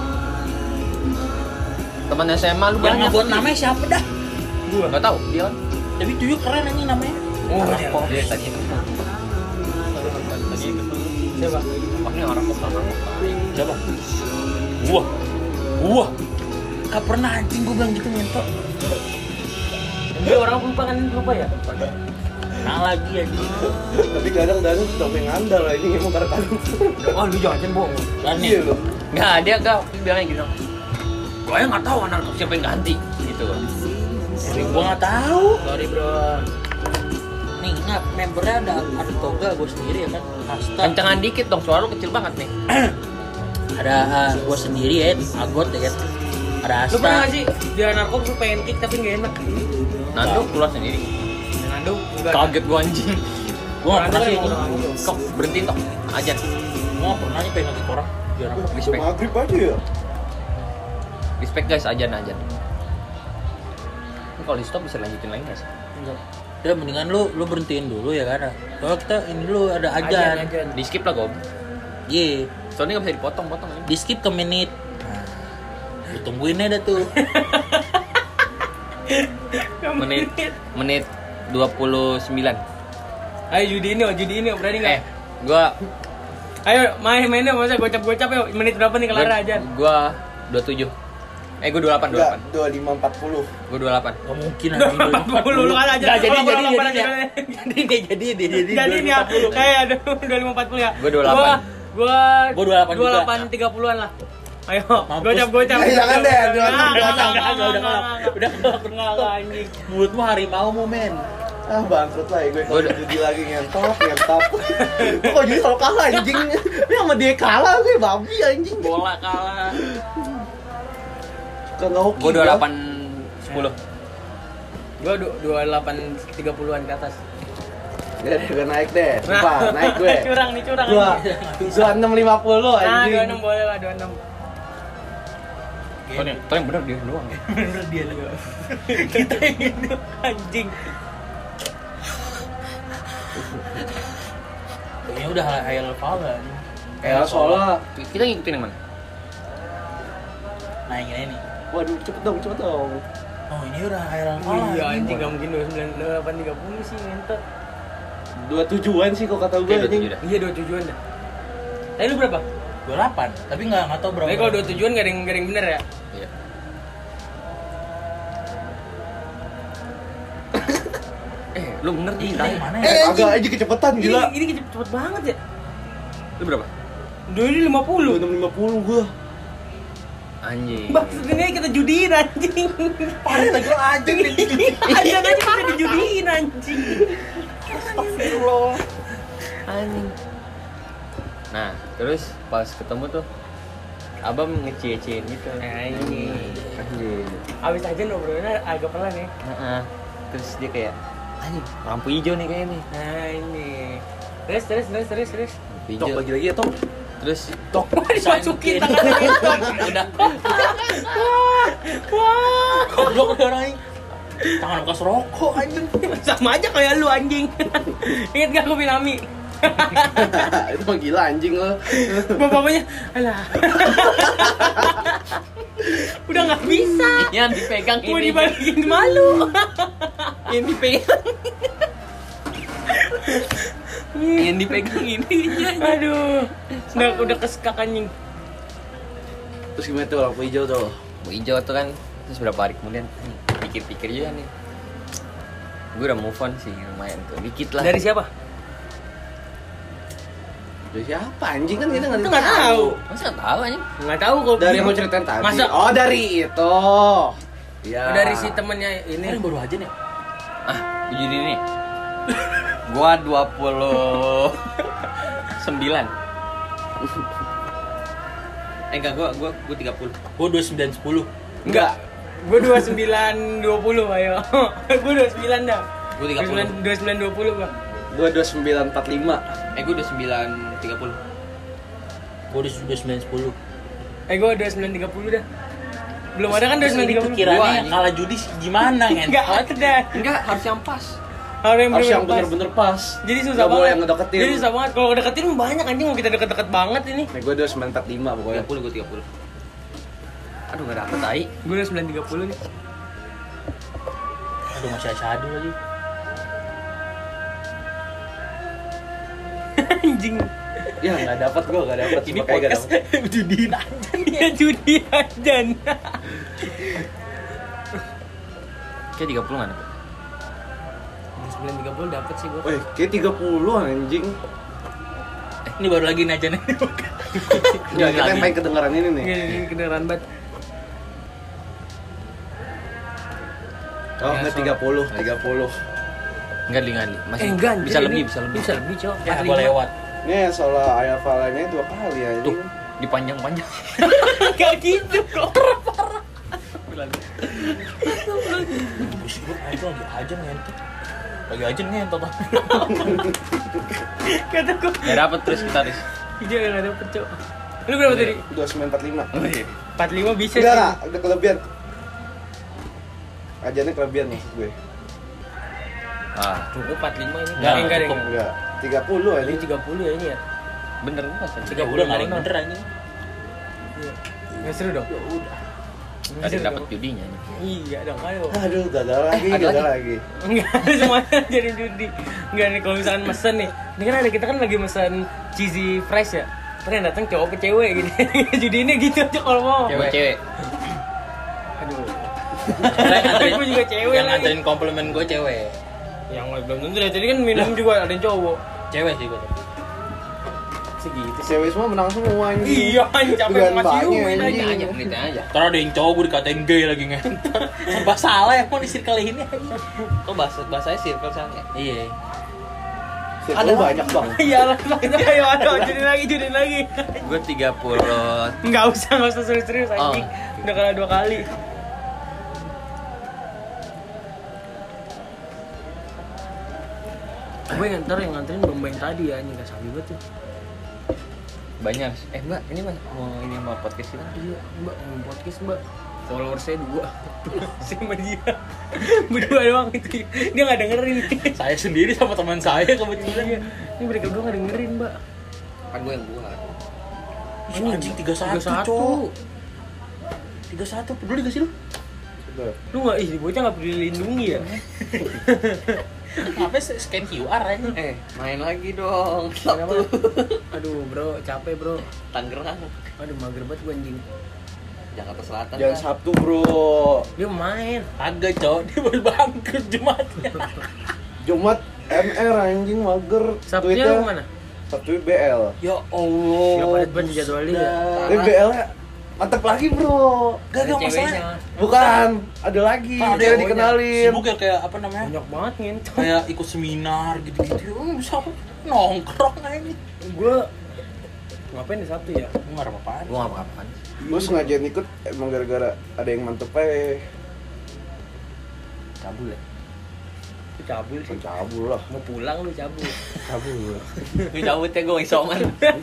teman S M A lu
Yang
banyak.
ngebuat namanya siapa dah?
Gua.
Enggak tahu dia kan.
Tapi tuyul keren anjing namanya.
Oh,
Anak
dia.
kok dia tadi itu. Tadi itu.
Siapa?
Oh, ini orang kok orang kok.
Siapa? Wah. Wah. Gak pernah anjing gue bilang gitu ngentot.
Dia orang lupa kan lupa ya?
Nah lagi anjing.
Tapi kadang-kadang sudah pengen ngandal lah, ini emang kadang-kadang.
Oh, lu jangan bohong.
Dan nih.
Iya loh.
Enggak, dia enggak bilangnya gitu. Gua yang enggak tahu anak siapa yang ganti gitu.
Gue nggak tahu.
Sorry, Bro.
Nih ingat membernya ada ada toga gue sendiri ya kan. Hasta.
Kencengan dikit dong, suara lu kecil banget nih.
Ada uh, gue sendiri ya, Agot ya kan. Ada Asta.
Lu pernah nggak sih di narkob lu pengen kick tapi nggak enak?
Nando keluar sendiri.
Nando enggak.
Kaget gua anjing.
Gue nggak pernah sih.
Kok berhenti tok aja.
Gue nggak pernah nih pengen ngakik orang. Biar apa?
Udah
Respect.
maghrib aja ya.
Respect guys, ajan ajan. Ini kalau di stop bisa lanjutin lagi nggak sih?
Enggak. Ya mendingan lu lu berhentiin dulu ya kan. Kalau kita ini lu ada ajan.
Di skip lah Gob.
Iya.
Soalnya nggak bisa dipotong-potong ini.
Di skip ke menit. Nah, lu tungguin aja tuh.
menit menit dua puluh sembilan.
Ayo judi ini, judi ini berani nggak?
Eh, gua
Ayo main mainnya masa gocap-gocap ya. Menit berapa nih kelar aja?
Gua dua puluh tujuh. Eh, gua dua puluh delapan, dua puluh delapan.
dua puluh lima empat puluh.
Gua dua puluh delapan.
Gak mungkin
empat puluh lu kan aja.
Enggak jadi
Oh,
jadi
berapa,
jadi
berapa,
ya.
berapa?
Jadi dia jadi dia jadi.
Jadi nih ya. Kayak ada dua puluh lima empat puluh ya.
Gua dua puluh delapan.
Gua
Gua dua puluh delapan
dua puluh delapan
juga.
tiga puluhan lah. Ayo,
Mampus.
gocap-gocap.
Eh, jangan deh, dua puluh enam,
Nah,
dua puluh enam.
nggak, nggak,
Udah
nggak,
udah
nggak,
udah
nggak, nggak, anjing.
mulutmu harimau mu men.
Ah bangkrut lah ya gue
Gua
kalau
udah-
judi lagi ngentot, ngentot. Gue kok jadi selalu kalah anjing. Ini sama dia kalah gue babi anjing.
Bola kalah.
Kagak hoki.
Gua dua puluh delapan sepuluh.
Gua dua puluh delapan tiga puluhan ke atas.
Ya gue naik deh. Sumpah, naik gue.
Curang nih, curang.
Gua
anjing.
dua enam lima puluh
Nah,
anjing.
dua puluh enam boleh lah, dua puluh enam.
Soalnya, soalnya bener dia doang ya.
Bener dia juga. Kita yang itu anjing.
Kayaknya udah high level kan.
Ya soalnya
Kita ngikutin yang mana?
Nah yang ini nih.
waduh cepet dong, cepet dong.
Oh ini udah high level.
Oh iya anjing enggak mungkin dua puluh sembilan dua puluh delapan tiga puluh sih ngentot.
Dua tujuan sih kok kata gue
Oke, dua
anjing.
tujuh dah.
Iya dua puluh tujuan dah. Tadi lu berapa?
dua puluh delapan, tapi enggak enggak tahu berapa.
Tapi kalau dua puluh tujuan enggak ada yang enggak ada yang bener ya?
Iya. Eh, lu bener nih.
Kita yang mana ya?
Eh agak aja kecepetan gila.
Ini, ini cepet, cepet banget ya.
Lu berapa?
Dua ini lima
Dua
puluh.
enam lima puluh gue.
Anjing.
Maksudnya kita judiin anjing.
Parah lagi aja nih.
Aja aja kita dijudiin anjing.
Astagfirullah.
Anjing. Nah, terus pas ketemu tuh Abang ngecie-ciein gitu.
Anjing.
Anjing.
Abis aja ngobrolnya agak pelan ya.
Heeh. Terus dia kayak anjing, lampu hijau nih kayaknya nih.
Nah ini. Terus terus terus terus terus.
Lampu
Tok
hijau.
lagi lagi ya Tok.
Terus
Tok dimasukin tangan Winston.
udah
Wah.
Goblok udah orang ini. Tangan bekas rokok anjing.
Sama aja kayak lu anjing. Ingat gak aku Binami?
Itu mah gila anjing lo.
Bapak-bapaknya, alah. Udah nggak bisa.
yang dipegang
Mau
ini.
dibalikin malu.
Yang dipegang. yang dipegang ini.
Aduh. Udah udah kesekak anjing.
Terus gimana tuh lampu hijau tuh?
Lampu hijau tuh kan. Terus beberapa hari kemudian nih, pikir-pikir juga nih. Gue udah move on sih lumayan tuh. Dikit lah.
Dari siapa?
Dari siapa anjing kan kita nggak
Itu nggak tahu.
Masa nggak tahu anjing?
Nggak tahu kok.
Dari yang mau ceritain tadi.
Masa?
Oh dari itu. Iya.
Dari si temennya ini.
Ini baru aja nih.
Ah, jadi ini. Gua dua puluh sembilan. Eh enggak, gua gua gua tiga puluh.
Gua dua puluh sembilan sepuluh.
Enggak. Gue dua puluh sembilan dua puluh ayo. Gue dua puluh sembilan dah.
Gua tiga puluh.
dua puluh sembilan dua puluh gua.
Gua dua puluh sembilan empat puluh lima.
Eh gua udah sembilan tiga puluh.
Gua udah dua puluh sembilan sepuluh.
Eh gue dua puluh sembilan tiga puluh dah. Belum ada kan dua puluh sembilan tiga puluh.
Gua,
Kiranya
anjing.
kalah judi gimana
Enggak
ngentot?
ada.
Enggak, harus yang pas.
Harus yang
Harus yang
bener-bener pas.
bener-bener pas.
Jadi susah
Nggak
banget.
boleh yang ngedeketin.
Jadi susah banget. Kalau ngedeketin banyak anjing mau kita deket-deket banget ini.
Nih gua dua puluh sembilan empat puluh lima pokoknya.
tiga puluh gua tiga puluh. Aduh, enggak dapet tai.
Gue dua puluh sembilan tiga puluh nih.
Aduh masih asyadu lagi.
Anjing.
Ya nggak dapat gua nggak dapat.
Ini
Makanya nggak
podcast
dapet.
judiin aja.
Dia judi aja.
Kayak tiga puluh mana?
dua puluh sembilan tiga puluh dapat sih gue.
Wih, kayak tiga puluh anjing.
Ini baru lagi nih aja nih.
Ya kita yang pengen kedengaran ini nih.
Ini kedengeran banget.
Oh, nggak tiga puluh, tiga puluh.
Enggak, enggak, masih
Eh enggak,
bisa
anjir,
lebih,
ini
bisa lebih.
Bisa lebih, Cok.
Ya gua lewat.
Ini soal ayah falanya dua kali ya.
Tuh, dipanjang-panjang.
Enggak gitu kok.
Buset gua itu lagi aja ngentot. Lagi aja ngentot.
Kata gue.
Ya dapat terus kita terus.
Dia enggak dapet, Cok. Lu berapa tadi?
dua puluh sembilan empat puluh lima.
empat puluh lima bisa
Udah
sih.
nggak? Udah kelebihan. Ajannya kelebihan maksud gue.
Ah,
Cukup empat puluh lima ini.
Enggak,
enggak
cukup.
enggak.
Enggak, tiga puluh
Ini
ini.
tiga puluh ya ini ya.
bener enggak sih?
tiga bulan nggak ada yang bener anjing.
Enggak seru dong.
Ya udah.
Ada yang dapat judinya nih.
Iya dong, ayo.
Aduh, gagal lagi,
ada
gagal lagi.
Enggak, semuanya jadi judi. Enggak nih kalau misalkan mesen nih. Ini kan ada kita kan lagi mesen cheesy fries ya. Terus yang datang cowok ke cewek gini. Judinya gitu aja kalau mau.
Cewek-cewek.
Aduh.
Yang
Gue juga cewek
yang
lagi.
nganterin komplimen gue cewek.
Yang belum tentu ya. Jadi kan minum juga ada yang cowok.
Cewek sih gue.
Segitu sih.
Cewek semua menang semua anjing.
Iya, anjing capek
Bukan
sama
banyak,
ciumin
anjing.
aja.
Aja, gitu aja.
Ntar ada yang cowok gue dikatain gay lagi ngentot. Serba salah emang di circle ini.
Kok bahasa bahasanya circle soalnya?
Iya.
Ada banyak bang.
Iya lah, ayo ayo judin lagi, judin lagi.
Gue tiga puluh.
Enggak usah, enggak usah serius-serius anjing.
Oh.
Udah kalah dua kali. Gue nganter yang nganterin domba yang tadi ya, ini gak sabi banget tuh.
Banyak. Eh, Mbak, ini Mas mau ini mau podcast kita.
Iya, mbak, mau podcast mbak. Follower saya dua. Sama dia. Berdua doang itu. Dia gak dengerin.
Saya sendiri sama teman saya kebetulan.
Iya. Ini mereka berdua gak dengerin mbak.
Kan gue yang buat.
Ih, anjing tiga puluh satu, Cok. tiga puluh satu peduli gak sih lu?
Udah.
Lu gak, ih bocah gak peduli lindungi ya?
Ngapain scan Q R aja?
Eh, main lagi dong.
Kenapa?
Sabtu.
Aduh bro, capek bro.
Tangerang.
Aduh mager banget gue anjing.
Jakarta Selatan.
Jangan
kan?
Sabtu bro.
Dia main.
Agak, Cok. Dia baru bangkrut Jumatnya.
Jumat M R anjing mager.
Sabtunya
Tweetnya-
lu mana?
Sabtu B L.
Ya Allah.
Gak padat banget jadwalnya ya.
Tapi B L-nya mantep lagi bro.
Gak, gak
Ada
masalah.
ceweknya.
Bukan, ada lagi.
Kan ada
Dia
yang
dikenalin.
sibuk ya kayak apa namanya?
Banyak banget ngentot.
Kayak ikut seminar gitu-gitu. Oh, bisa nongkrong aja.
Gue ngapain di Sabtu ya?
Gue gak ada apa-apaan.
Gue gak apa-apa.
Gue sengaja ikut emang gara-gara ada yang mantep aja.
Cabul ya.
Itu cabul sih.
Cabul lah.
Mau pulang lu cabul.
Cabul.
Gue cabut ya, gue isoman.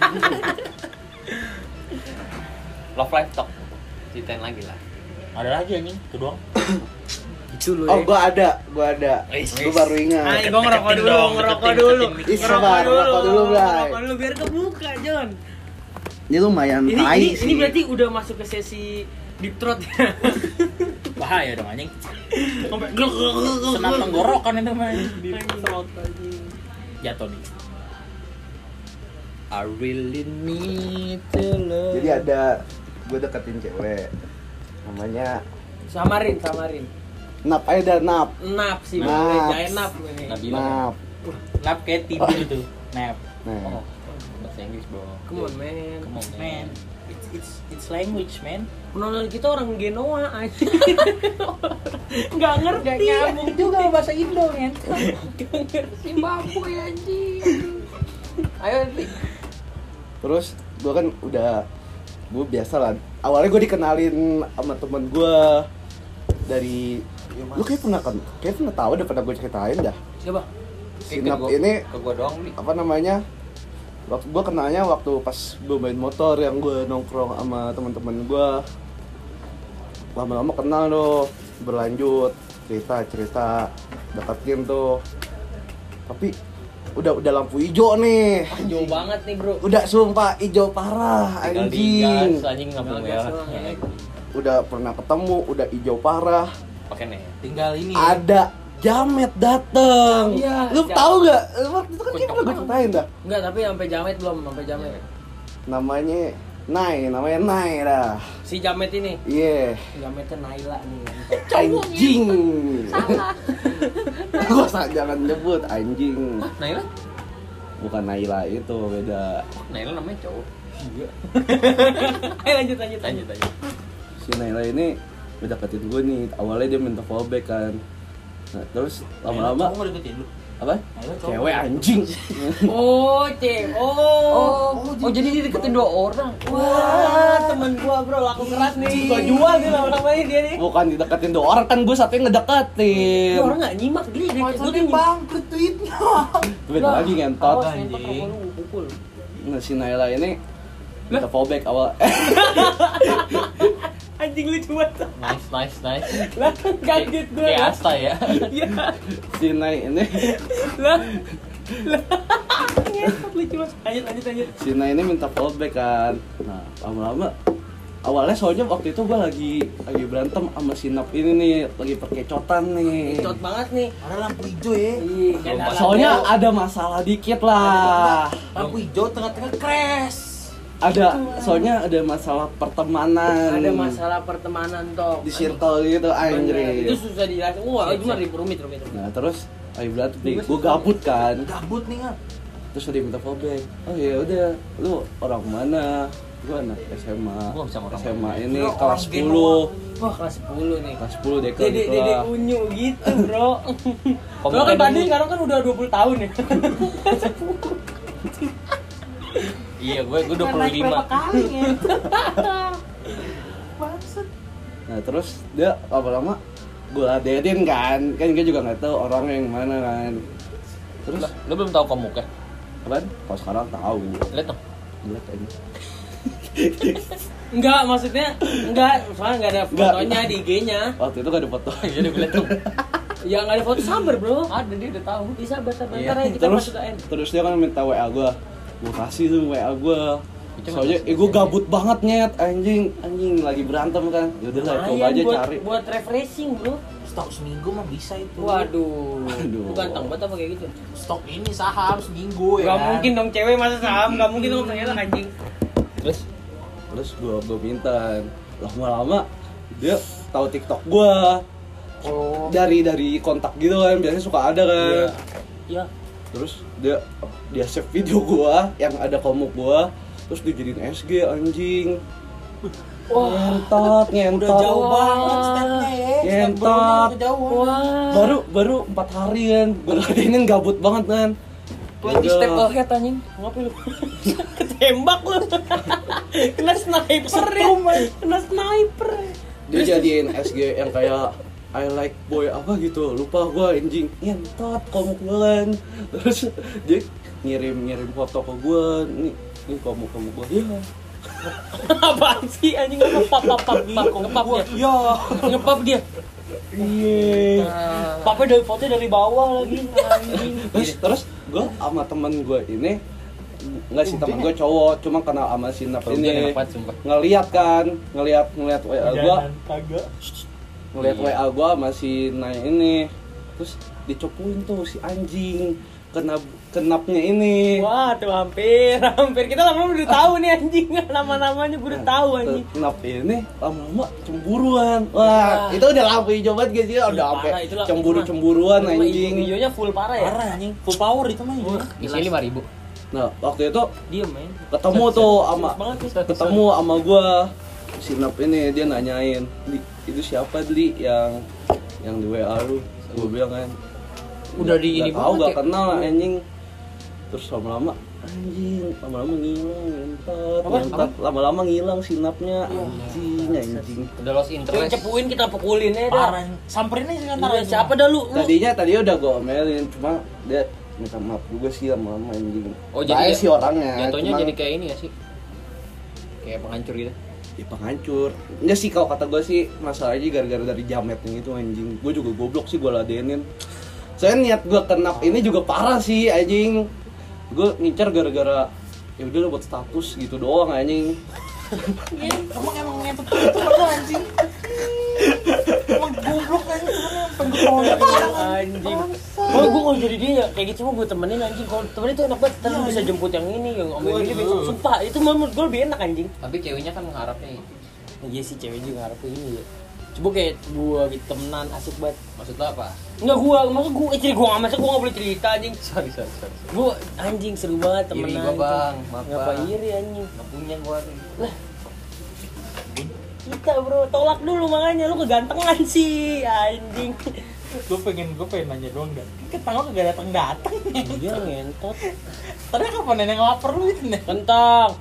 Love Life Talk. Ceritain lagi lah.
Ada lagi anjing, itu doang.
Itu lu
Oh,
ya.
gua ada, gua ada. Gua baru
Ah,
ingat.
gue ngerokok
Deketin
dulu,
dong,
ngerokok
deketin,
dulu.
deketin.
Ih,
Ngerokok
sabar,
dulu.
ngerokok dulu, Bray.
Ngerokok dulu biar kebuka, John.
Ini lumayan
Ini
tai
ini,
sih.
ini berarti udah masuk ke sesi deep throat ya.
Bahaya dong anjing.
Sampai gluk gluk gluk gluk.
Senam tenggorokan itu main.
Deep throat anjing.
Jatuh nih.
I really need to love.
Jadi ada gue deketin cewek. Namanya
Samarin, samarin.
Nap aja dah Nap.
Nap sih,
Naps.
Bang. Jangan nap ini.
Nabila.
Nap.
Nap kayak tidur itu. Nap.
Nah.
Oh, bahasa Inggris, Bro.
Come on, man.
Come on, man. It's it's it's language, man.
Penonton kita orang Genoa aja. Enggak ngerti.
Gak nyambung juga bahasa Indo, men.
Si Zimbabwe anjing.
Ayo, Lik.
Terus gue kan udah gue biasa lah. Awalnya gue dikenalin sama temen gue dari lu kayak pernah kan kayak pernah tahu deh, pernah gue ceritain dah.
Siapa?
Si
Eh, ke
Nap
gua-
ini
ke gua doang, Lik.
apa namanya? Waktu gue kenalnya waktu pas gue main motor yang gue nongkrong sama teman-teman gue. Lama-lama kenal tuh, berlanjut cerita-cerita deketin tuh. Tapi udah udah lampu hijau nih.
Jauh banget nih, Bro.
Udah sumpah hijau parah
Tinggal
anjing.
digas, anjing lampu
Tinggal
merah.
gas doang, ya.
Udah pernah ketemu, udah hijau parah.
Oke nih.
Tinggal ini.
Ada jamet dateng.
Iya,
Lu
jamet.
tahu gak? Waktu itu kan kayak pernah gue ceritain dah.
Enggak, tapi sampai jamet belum, sampai jamet.
Namanya Nai, namanya Nai dah.
Si jamet ini.
Iya.
Jametnya Naila nih.
Anjing. Gua sa- jangan nyebut anjing.
Naila?
Bukan Naila itu, beda.
Naila namanya cowok.
Iya. Ayo lanjut lanjut
Lanjut, lanjut.
Si Naila ini udah deketin gue nih. Awalnya dia minta follow back kan. Nah, terus lama-lama
Kamu deketin lu.
apa?
Naila cowok.
Cewek anjing.
Oh, cek. Oh. Oh, jadi dia deketin dua orang. Wah, temen gua, Bro, laku keras nih. Gua jual nih lama-lamanya dia nih.
Bukan dideketin dua orang, kan gue satunya ngedeketin.
Ini orang enggak nyimak dia. Dia gua tuh
bangkrut tweetnya.
Beda lagi ngentot.
Awas, nyentak rokok lu, pukul.
Nah, si Naila ini minta fallback awal.
Anjing lucu banget.
Nice, nice, nice.
Lah kaget gue.
Kayak Asta ya.
Iya.
Si Nai ini
Lah. Lah. Ngetot lucu banget. Lanjut lanjut lanjut.
si Nai ini minta fallback kan. Nah, lama-lama awalnya soalnya waktu itu gue lagi lagi berantem sama si Nap ini nih, lagi perkecotan nih.
Cot banget nih.
Ada lampu hijau ya.
Iya, kan ada
Soalnya
lampu.
ada masalah dikit lah.
Lampu hijau tengah-tengah crash.
Ada, soalnya ada masalah pertemanan.
Ada masalah pertemanan toh.
di circle gitu
Bener,
anjir.
itu susah dijelasin. Wah, itu mah rumit rumit. rumit.
Nah terus ayo berantem nih, gue gabut kan.
Gabut nih kan.
Terus dia minta fallback. Oh ya udah, lu orang mana? Gue anak S M A.
Gua bisa orang
S M A ini
Lu
kelas
orang
sepuluh.
Wah, kelas sepuluh nih.
Kelas sepuluh deka
Dede
gitu
dede
lah.
unyu gitu, Bro.
Kamu
Lo kan
kayak
tadi
dulu.
sekarang kan udah dua puluh tahun ya.
Iya, gue gue dua puluh lima.
Berapa kali ya?
Nah terus dia lama-lama gue ladenin kan. Kan gue juga nggak tahu orangnya yang mana kan. Terus
Lah, lu belum tahu komuknya?
kan? Kalau sekarang tahu.
Lihat dong.
Lihat aja.
Enggak, maksudnya enggak, soalnya enggak ada
Enggak.
fotonya di I G-nya.
Waktu itu gak ada foto.
Iya, udah lihat dong.
Ya enggak ada foto, sabar, Bro.
Ada, dia udah tahu.
Bisa sabar sabar.
Iya.
Ntar aja kita
Terus
masuk ke N.
terus dia kan minta W A gue. Gue kasih tuh W A gue.
Itu
Soalnya eh, gue gabut banget nyet anjing anjing lagi berantem kan. Yaudah lah coba
Lumayan
aja
buat,
cari.
buat refreshing, Bro.
Stok seminggu mah bisa itu.
Waduh.
Aduh.
Lu ganteng banget apa kayak gitu?
Stok ini saham seminggu ya.
Gak
kan?
mungkin dong cewek masa saham, gak mungkin dong ternyata anjing.
Terus terus gue gue minta lama-lama dia tahu TikTok gue.
Oh.
Dari dari kontak gitu kan biasanya suka ada kan.
Iya.
Terus dia dia save video gue yang ada komuk gue. Terus dijadiin S G anjing.
Wah,
Ngentot, ngentot.
Udah jauh banget stepnya ya. Step
Ngentot.
belum kejauhan.
wah.
Baru baru empat hari kan. Gue ladenin gabut banget kan.
twenty
Yaudah.
step ahead anjing. Ngapain lu? Ketembak lu. Kena sniper ya. Kena sniper.
Dia jadiin S G yang kayak I like boy apa gitu, lupa gue anjing. Ngentot komuk gue kan. Terus dia ngirim-ngirim foto ke gue. Nih, nih komuk-komuk gue. Ya.
Apaan sih anjing ngepap pap pap pap ngepap dia.
Ya.
Ngepap dia.
Iya.
Papnya dari foto dari bawah lagi anjing.
Terus terus gue sama temen gue ini nggak sih temen gue cowok, cuma kenal sama si Nap
Ini
ini.
enak banget sumpah.
Ngeliat kan, ngeliat ngeliat W A gue,
Kagak.
ngeliat
Iya.
W A gue sama si Nay ini. Terus dicopuin tuh si anjing kenap kenapnya ini.
Wah, tuh hampir, hampir kita lama-lama udah tahu nih anjing. Nama-namanya gue udah tahu anjing.
Kenap ini lama-lama cemburuan. Wah, itu udah lampu hijau banget guys ya, udah
Parah,
sampai
itulah.
cemburu-cemburuan
Cuma
anjing.
videonya full parah ya.
Parah anjing. Full power itu mah. ya.
Isinya lima ribu.
Nah, waktu itu
Diem men.
ketemu tuh sama
Serius banget nih.
ketemu sama gua si Nap ini, dia nanyain, "Di, itu siapa Dli yang yang di W A lu?" Gua bilang kan,
Udah di ini
nggak tahu,
banget
gak
ya.
kenal anjing. Terus lama-lama anjing, lama-lama ngilang, ngentot,
Apa?
ngentot, lama-lama ngilang si Napnya, anjing, anjing.
Udah lost
Yang
interest.
cepuin kita pukulin ya dah.
Parah. Samperin aja kan
Iya, siapa dah lu? Lu
Tadinya tadinya udah gua omelin, cuma dia minta maaf juga sih lama-lama anjing.
Oh, jadi
Baik
ya-
sih orangnya.
Jatuhnya
cuma-
jadi kayak ini ya sih. Kayak penghancur gitu.
Ya penghancur. Enggak sih kalau kata gue sih masalahnya gara-gara dari jametnya itu anjing. Gue juga goblok sih gue ladenin. Soalnya niat gue kenap ini juga parah sih anjing. Gue ngincar gara-gara ya udah lo buat status gitu doang anjing.
Emang emang ngentot itu kan anjing. Emang goblok anjing. Pengen
anjing. Kalau gue kalau jadi dia ya kayak gitu mah gue temenin anjing. Kalau temenin tuh enak banget. Ntar lu bisa jemput yang ini, yang om yang ini besok. Sumpah, itu menurut gue lebih enak anjing.
Tapi ceweknya kan mengharapnya itu.
Iya sih cewek juga ngarepin ini ya. Coba kayak gue gitu temenan asik banget.
Maksud lo apa?
Enggak gue, maksud gue istri gue nggak masuk gue nggak boleh cerita anjing.
Sorry, sorry, sorry.
Gue anjing seru banget temenan.
Iri gua, Bang. Maaf,
Ngapa
Bang.
iri anjing?
Nggak punya gua nih.
Kita bro, tolak dulu makanya lu kegantengan sih anjing.
Gue pengen gue pengen nanya doang dan ketangga kagak datang datang.
Iya ngentot.
Tadi kapan nenek lapar lu itu nih?
Kentang.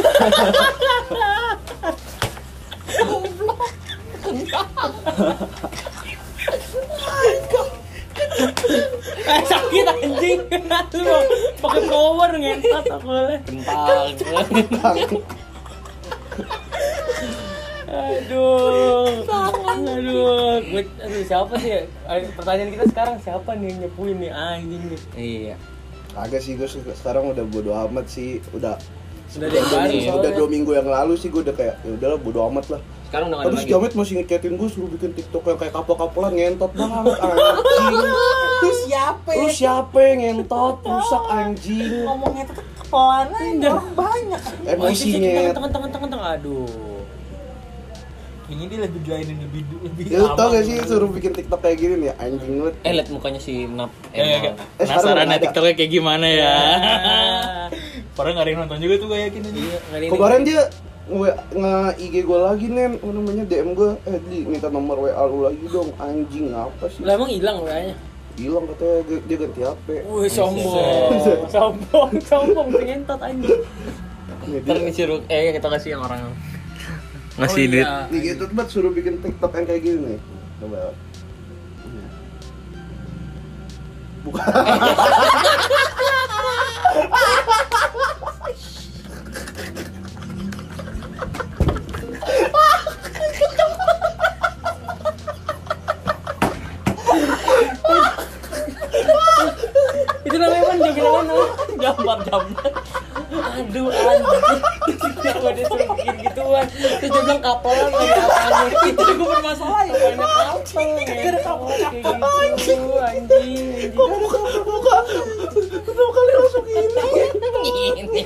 Eh sakit anjing. Lu mau pakai power ngentot aku boleh.
Kentang.
Aduh. Aduh. Gue aduh siapa sih ya? Pertanyaan kita sekarang siapa nih yang nyepuin nih anjing nih?
Iya.
Agak sih gue sekarang udah bodo amat sih, udah
Sudah ada yang baru
udah
soalnya.
dua minggu yang lalu sih gue udah kayak ya udahlah bodo amat lah.
Sekarang udah nggak ada
Terus
lagi.
Jamet masih ngecetin gue suruh bikin TikTok yang kayak kapal-kapalan ngentot banget anjing.
Lu siapa?
Lu siapa yang ngentot rusak anjing?
Ngomongnya tuh pelan aja, orang banyak.
Emosinya.
Tangan tangan tangan tangan aduh.
Ini dia lebih dilainin lebih lebih.
Ya lu tau
aman
gak sih
gitu.
suruh bikin TikTok kayak gini nih anjing lu.
Eh liat mukanya si Nap.
Ya, ya, ya.
Eh, sekarang
Penasaran
udah
ya
ada.
TikToknya kayak gimana ya? Padahal nggak ada yang nonton juga tuh gue yakin aja.
Kemarin dia nge nge I G gue lagi nen, apa namanya D M gue, eh di minta nomor W A lu lagi dong, anjing apa sih?
Lah emang hilang kayaknya.
Hilang katanya dia, dia ganti H P.
Wih sombong. Sombong, sombong pengentot anjing.
Nih,
Ntar
dia,
disuruh eh kita kasih yang orang ngasih
Oh,
duit.
iya.
nih gitu banget suruh bikin TikTok yang kayak gini nih. Coba. Bukan.
Itu namanya apa? Joget apa namanya? Gambar gambar. Aduh anjing. Kenapa dia suruh bikin gituan? Terus dia bilang kapelan lagi apanya? Itu gue bermasalah ya. Banyak kapel. Gak ada kapel kapel anjing. Anjing.
Buka buka. Kenapa kalian langsung gini?
Ini.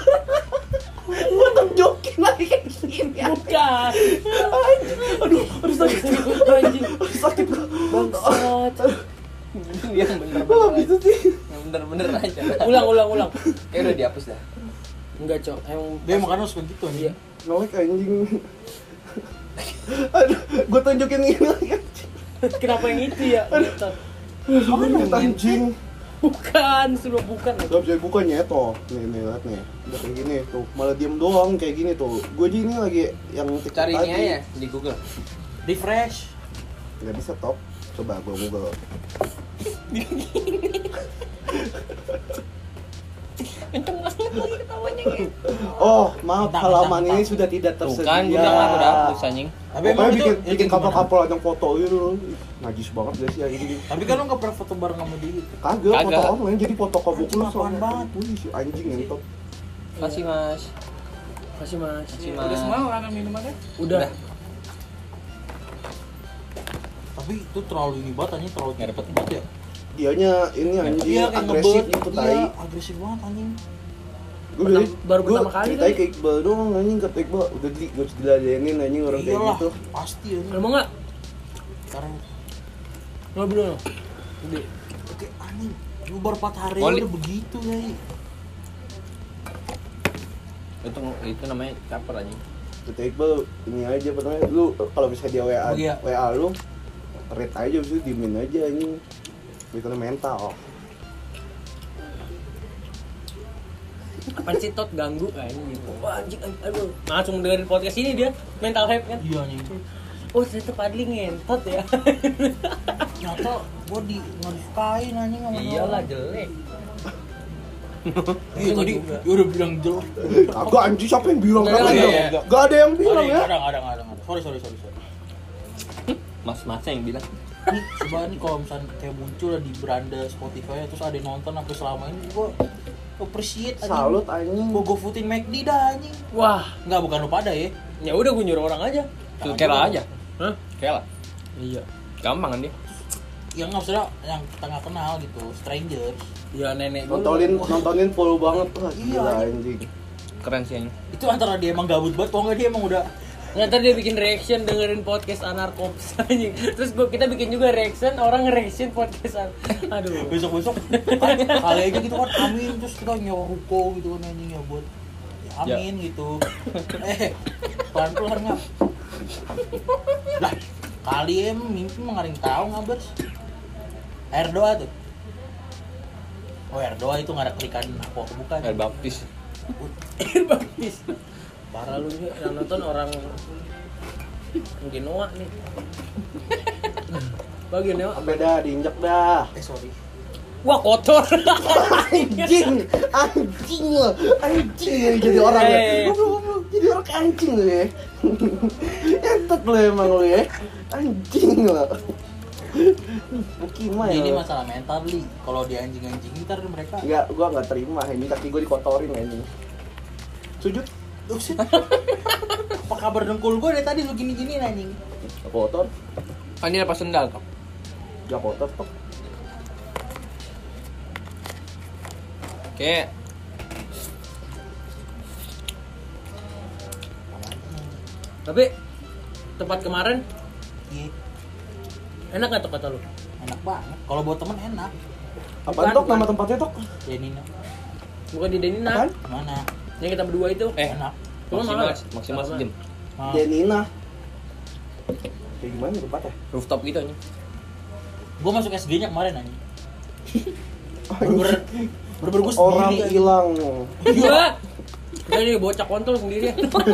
Tetap jokin lagi kayak gini.
Bukan.
Aduh, aduh sakit.
Anjing.
Aduh sakit.
Bangsat. Yang
Kok
bener-bener
gitu sih?
Yang bener-bener aja.
Ulang ulang ulang.
Eh udah dihapus dah.
Enggak cok. Emang
Dia makan harus begitu nih.
Iya.
Nolek anjing. Aduh, gue tunjukin ini lagi anjing.
Kenapa yang itu ya? Ngetot.
Mana anjing?
Bukan, suruh bukan.
Gak bisa bukanya toh. Nih, nih, lihat nih. Udah kayak gini tuh. Malah diem doang kayak gini tuh. Gue aja ini lagi yang TikTok
Cari ini
tadi.
aja di Google.
Refresh.
Gak bisa top. Coba gue Google.
Kenceng banget lagi ketawanya gitu.
Oh, maaf
Bentar,
halaman
bentar,
ini
bentar.
sudah tidak
Tuh
tersedia.
kan gue bilang lah udah hapus anjing.
Tapi
Pokoknya
emang itu
bikin
itu
bikin
gimana?
kapal-kapal yang foto gitu. Ih, najis banget gak sih anjing.
Tapi kan lu nggak pernah foto bareng sama dia.
Kagak, foto
Kagak.
online jadi foto kabuk
Anjing,
lu
apaan banget.
Wih, si anjing ngentot.
Kasih Mas.
Kasih mas.
Kasih
Udah
Mas.
semua makan minumannya?
Udah.
Udah.
Tapi itu terlalu ini banget anjing, terlalu
Nggak
cepet
dapet.
banget ya.
Dianya ini anjing
Iya kayak
agresif
ngebet.
gitu tai.
Iya, agresif banget anjing.
Gue
Pertama- baru pertama kali
ceritain
kali.
ke Iqbal doang anjing, kata Iqbal udah di gue diladenin anjing orang kayak
Iyalah,
gitu.
pasti anjing.
Lu mau nggak?
Sekarang
Nggak belum. Gede.
oke anjing. Lu baru empat hari
Oli.
udah begitu ya.
Itu itu namanya caper anjing.
Kata Iqbal ini aja apa namanya lu kalau bisa dia W A
Oh, iya.
W A lu read aja udah diemin aja anjing. Itu mental.
Apaan sih tot ganggu anjing. Wah anjing anjing, aduh. Langsung dengerin podcast ini dia mental health kan.
Iya anjing.
Oh ternyata Padli ngentot ya.
Nyata gua di nge-kain anjing sama dia.
Iyalah jelek.
Iya tadi
juga.
dia udah bilang jelek.
Kagak anjing siapa yang bilang
Nggak,
kagak
nggak,
ada.
nggak.
Gak ada yang
Ada
bilang ya.
ada ada ada ada. Sorry sorry sorry sorry.
Mas-masnya yang bilang.
Nih coba nih kalau misalnya kayak muncul di beranda Spotify terus ada yang nonton sampai selama ini gua appreciate anjing.
Salut anjing.
Gua GoFoodin McD dah anjing.
Wah,
Enggak bukan lu pada ya.
ya udah gue nyuruh orang aja.
Tuh Kela aja.
Hah?
Kela.
Iya.
Gampang kan dia.
Yang nggak maksudnya yang kita nggak kenal gitu, strangers.
Ya nenek gua.
Nontonin nontonin full banget wah
Iya,
gila
anjing.
anjing.
Keren sih anjing.
Itu antara dia emang gabut banget, kalau nggak dia emang udah
Nggak, ntar dia bikin reaction dengerin podcast Anarkops anjing. Terus gua kita bikin juga reaction, orang nge-reaction podcast. Aduh.
besok-besok kan kali aja gitu kan amin terus kita nyewa ruko gitu kan anjing ya buat ya, amin gitu. Eh, pelan-pelan nggak? Lah, kali em mimpi mah nggak ada yang tahu ngabers. Air doa tuh. Oh air doa itu nggak ada kelikan apa bukan?
Air baptis.
Air baptis. Parah lu nih, yang nonton orang mungkin Noah nih. Bagian Noah.
Sampai dah diinjak dah.
Eh sorry.
Wah kotor.
Anjing, anjing lo, anjing lo jadi orang ya.
Eh.
Goblok, goblok. Jadi orang anjing lo ya. Ngentot lo emang lo ya. Anjing lo. Bukima ya.
Ini
lo.
masalah mental li. Kalau dia anjing-anjing ntar mereka
Enggak, gua enggak terima ini kaki gua dikotorin anjing. Sujud.
Buset. Apa kabar dengkul gue dari tadi lu gini-gini anjing.
Kotor.
Kan dia lepas sendal kok.
Enggak kotor toh.
Kayak
Tapi tempat kemarin
Iya,
enak nggak tuh kata lu?
enak banget. Kalau buat temen enak.
Apaan
Bukan,
tok
bukan.
nama tempatnya tok?
Denina.
Bukan di Denina.
Apaan?
Mana?
Yang kita berdua itu.
eh
Enak.
Cuma
maksimal
mahal.
maksimal
Sama.
sejam.
Ah.
Denina. Kayak gimana tempatnya?
Rooftop gitu aja.
Gue masuk S G-nya kemarin anjing.
Anjing.
Bener-bener gue
Orang
sendiri.
hilang.
Iya. Jadi bocah kontol sendiri.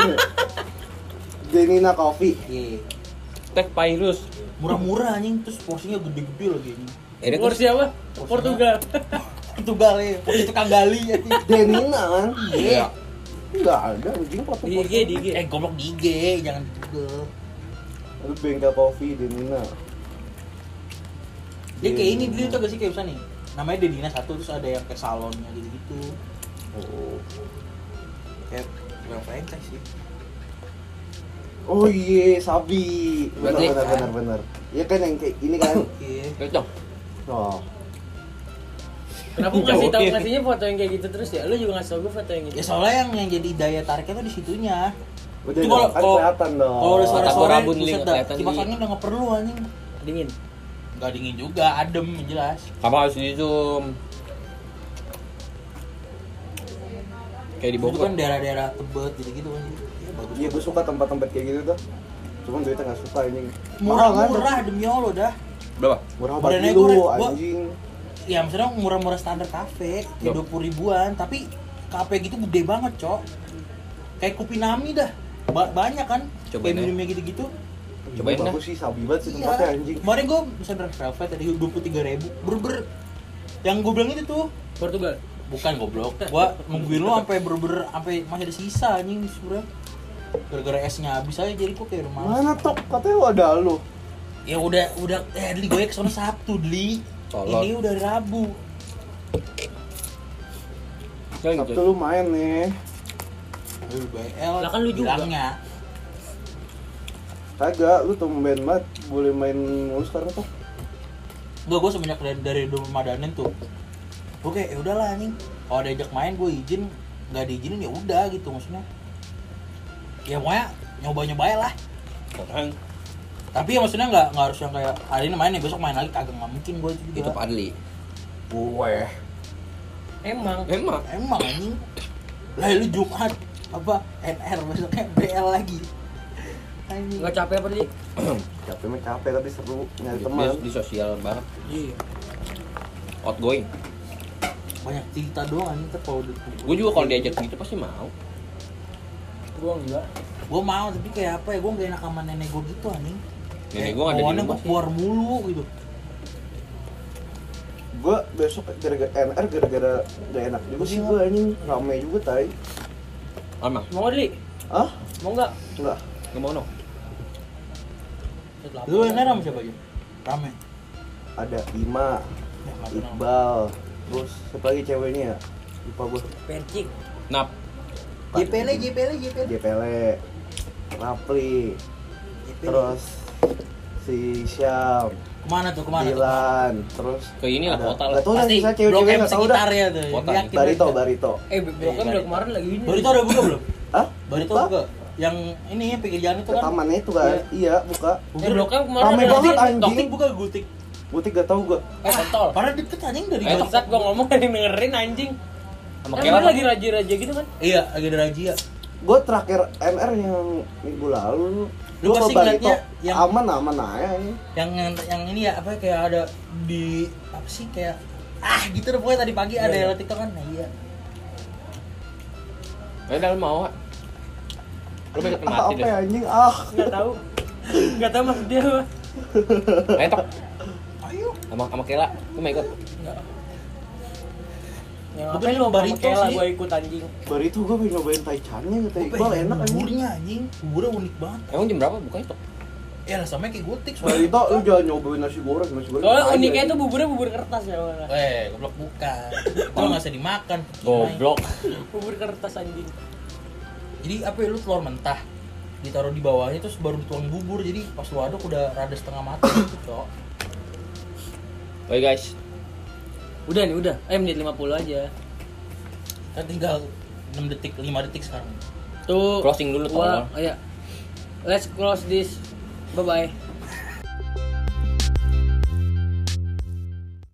Denina Coffee.
Iya.
Teh Pairus.
Murah-murah anjing, terus porsinya gede-gede lagi anjing.
Eh, dia
Porsi apa? Portugal.
Itu gali, porsi tukang gali anjing.
Denina kan?
Iya.
Enggak ada anjing foto.
Di I G, di I G.
Eh goblok di I G, jangan di Google.
Lu bengkel coffee Denina.
Dia kayak ini dulu tuh gak sih kayak bisa nih. Namanya Denina satu terus ada yang kayak salonnya gitu-gitu.
Oh.
Kayak bukan franchise sih.
Oh iya, Sabi. Benar
Berarti-
benar benar benar. Iya kan yang kayak ini kan.
Iya.
Cocok.
Oh.
Kenapa lu ngasih tahu ngasihnya foto yang kayak gitu terus ya? Lu juga ngasih tau gue foto yang gitu.
Ya soalnya yang yang jadi daya tariknya tuh di situnya.
Udah
Itu kalau-
kan
kalau-
kelihatan dong.
Kalau udah sore
Otak gua
sore,
rabun, Li,
buset
nggak
dah.
kelihatan,
Kipas
Li.
angin udah nggak perlu anjing.
Dingin.
Nggak dingin juga, adem yang jelas.
Apa harus di zoom? Kayak di
Itu
Bogor.
kan daerah-daerah Tebet gitu-gitu kan. Ya, bagus.
Iya, gue suka tempat-tempat kayak gitu tuh. Cuman duitnya nggak suka anjing.
Murah-murah demi Allah dah.
Berapa?
Murah
Badannya
banget
gua-
lu
gua-
anjing.
Ya maksudnya murah-murah standar kafe, kayak
Loh.
dua puluh ribuan, tapi kafe gitu gede banget, Cok. Kayak Kupinami dah. Ba- banyak kan?
Cobain
kayak
aja.
minumnya gitu-gitu.
Cobain dah.
Bagus sih, sabi banget sih
Iya.
tempatnya anjing.
Kemarin gue pesan Red Velvet tadi dua puluh tiga ribu. Ber-ber yang gue bilang itu tuh
Portugal.
bukan goblok. Gua nungguin lo sampai ber-ber sampai masih ada sisa anjing sebenarnya. Gara-gara esnya habis aja jadi gua kayak rumah.
Mana tok? Katanya ada lu.
Ya udah udah eh Dli gue kesana Sabtu Dli.
Tolong.
Ini udah Rabu.
Jangan
Sabtu
gitu.
lu main nih.
Aduh, B L.
Lah kan lu juga.
bilangnya.
Kagak, lu tumben banget boleh main mulu sekarang tuh.
Gua gua semenjak dari dari Ramadan tuh. Gue kayak ya udahlah anjing. Kalau diajak main gue izin, nggak diizinin ya udah gitu maksudnya. Ya pokoknya nyoba-nyoba aja lah.
Orang
Tapi ya maksudnya nggak nggak harus yang kayak hari ini main ya besok main lagi kagak nggak mungkin gue itu juga.
itu Padli.
Gue.
Emang.
Memang.
Emang anjing. Lah lu Jumat apa N R besoknya B L lagi. Anjing.
Enggak capek apa sih?
Capek mah capek tapi seru nyari
Di,
teman.
di sosial banget.
Iya.
Outgoing.
Banyak cerita doang anjing tuh kalau udah.
Gue juga kalau diajak gitu pasti mau.
Gua enggak.
Gue mau tapi kayak apa ya gue gak enak sama nenek gue gitu anjing.
Nenek gue nggak ada di
bawaannya
rumah
gue
sih.
keluar mulu gitu.
Gue besok gara-gara N R gara-gara gak enak juga sih gue anjing, rame juga tai.
Emang?
Mau nggak, Li?
Hah?
Mau enggak?
Enggak.
Nggak mau no?
Lu N R sama siapa aja? Rame.
Ada Ima,
Ya, nggak kenal.
Iqbal, terus siapa lagi ceweknya ya? Lupa gue.
Percik.
Nap.
J P L J P L J P L.
J P L, Rapli, terus si Syam,
Kemana tuh kemana tuh?
Dilan, terus
Ke ini lah,
ada-
kota lah.
nggak tahu dah
Pasti
sisa
Blok
cewek-cewek
M
nggak tahu dah.
sekitarnya tuh.
Kota,
Yakin
Barito,
aja.
Barito.
Eh, Blok M udah kemarin lagi ini.
Barito udah buka belum?
Hah?
Barito
Buka?
buka. Yang ini yang pinggir jalan itu
Ke
kan.
tamannya itu kan? Iya, buka.
Eh, Blok M kemarin
Rame
ada
banget,
lagi.
anjing.
Gultik buka gultik.
Butik gak tahu gue.
Eh, kontol.
Padahal deket anjing dari
Eh,
Gultik.
saat gua ngomong ada yang dengerin anjing.
Sama
Kan
Kela
dia lagi raja-raja gitu kan?
Iya, lagi ada razia.
Gue terakhir N R yang minggu lalu.
Lu
Gua
pasti
ke Barito,
ngeliatnya yang-
aman aman aja ini.
Yang yang yang ini ya apa kayak ada di apa sih kayak ah gitu deh pokoknya tadi pagi ada
Iya,
yang TikTok kan. Nah, iya.
Eh, dah lu mau, Wak? Lu pengen
Ah,
mati
apa
deh.
ya anjing? Ah.
Enggak tahu. Enggak tahu maksud dia apa.
Ayo, Tok.
Ayo.
Sama sama Kela, lu mau ikut?
Enggak. Yang
Bukan
ngapain lu sama
burrito
Kela
sih.
gua ikut anjing.
Baru itu gue pengen nyobain taichannya kata
Gua
Iqbal
pengen
enak anjing.
buburnya anjing. Buburnya unik banget.
Emang jam berapa bukanya tuh?
Ya rasanya kayak gotik
Baru itu lu jangan nyobain nasi goreng, nasi goreng.
Soalnya
tai,
uniknya itu
anjing.
buburnya bubur kertas ya. Bang.
Eh, goblok bukan. Itu nggak usah dimakan.
Goblok.
Bubur kertas anjing.
Jadi apa ya, lu telur mentah ditaruh di bawahnya terus baru dituang bubur, jadi pas lu aduk udah rada setengah matang gitu, Cok.
Oke guys.
Udah nih, udah. Eh menit lima puluh aja.
Kan tinggal enam detik, lima detik sekarang.
Tuh.
Closing dulu,
Gua,
tolong.
iya. Let's close this. Bye bye.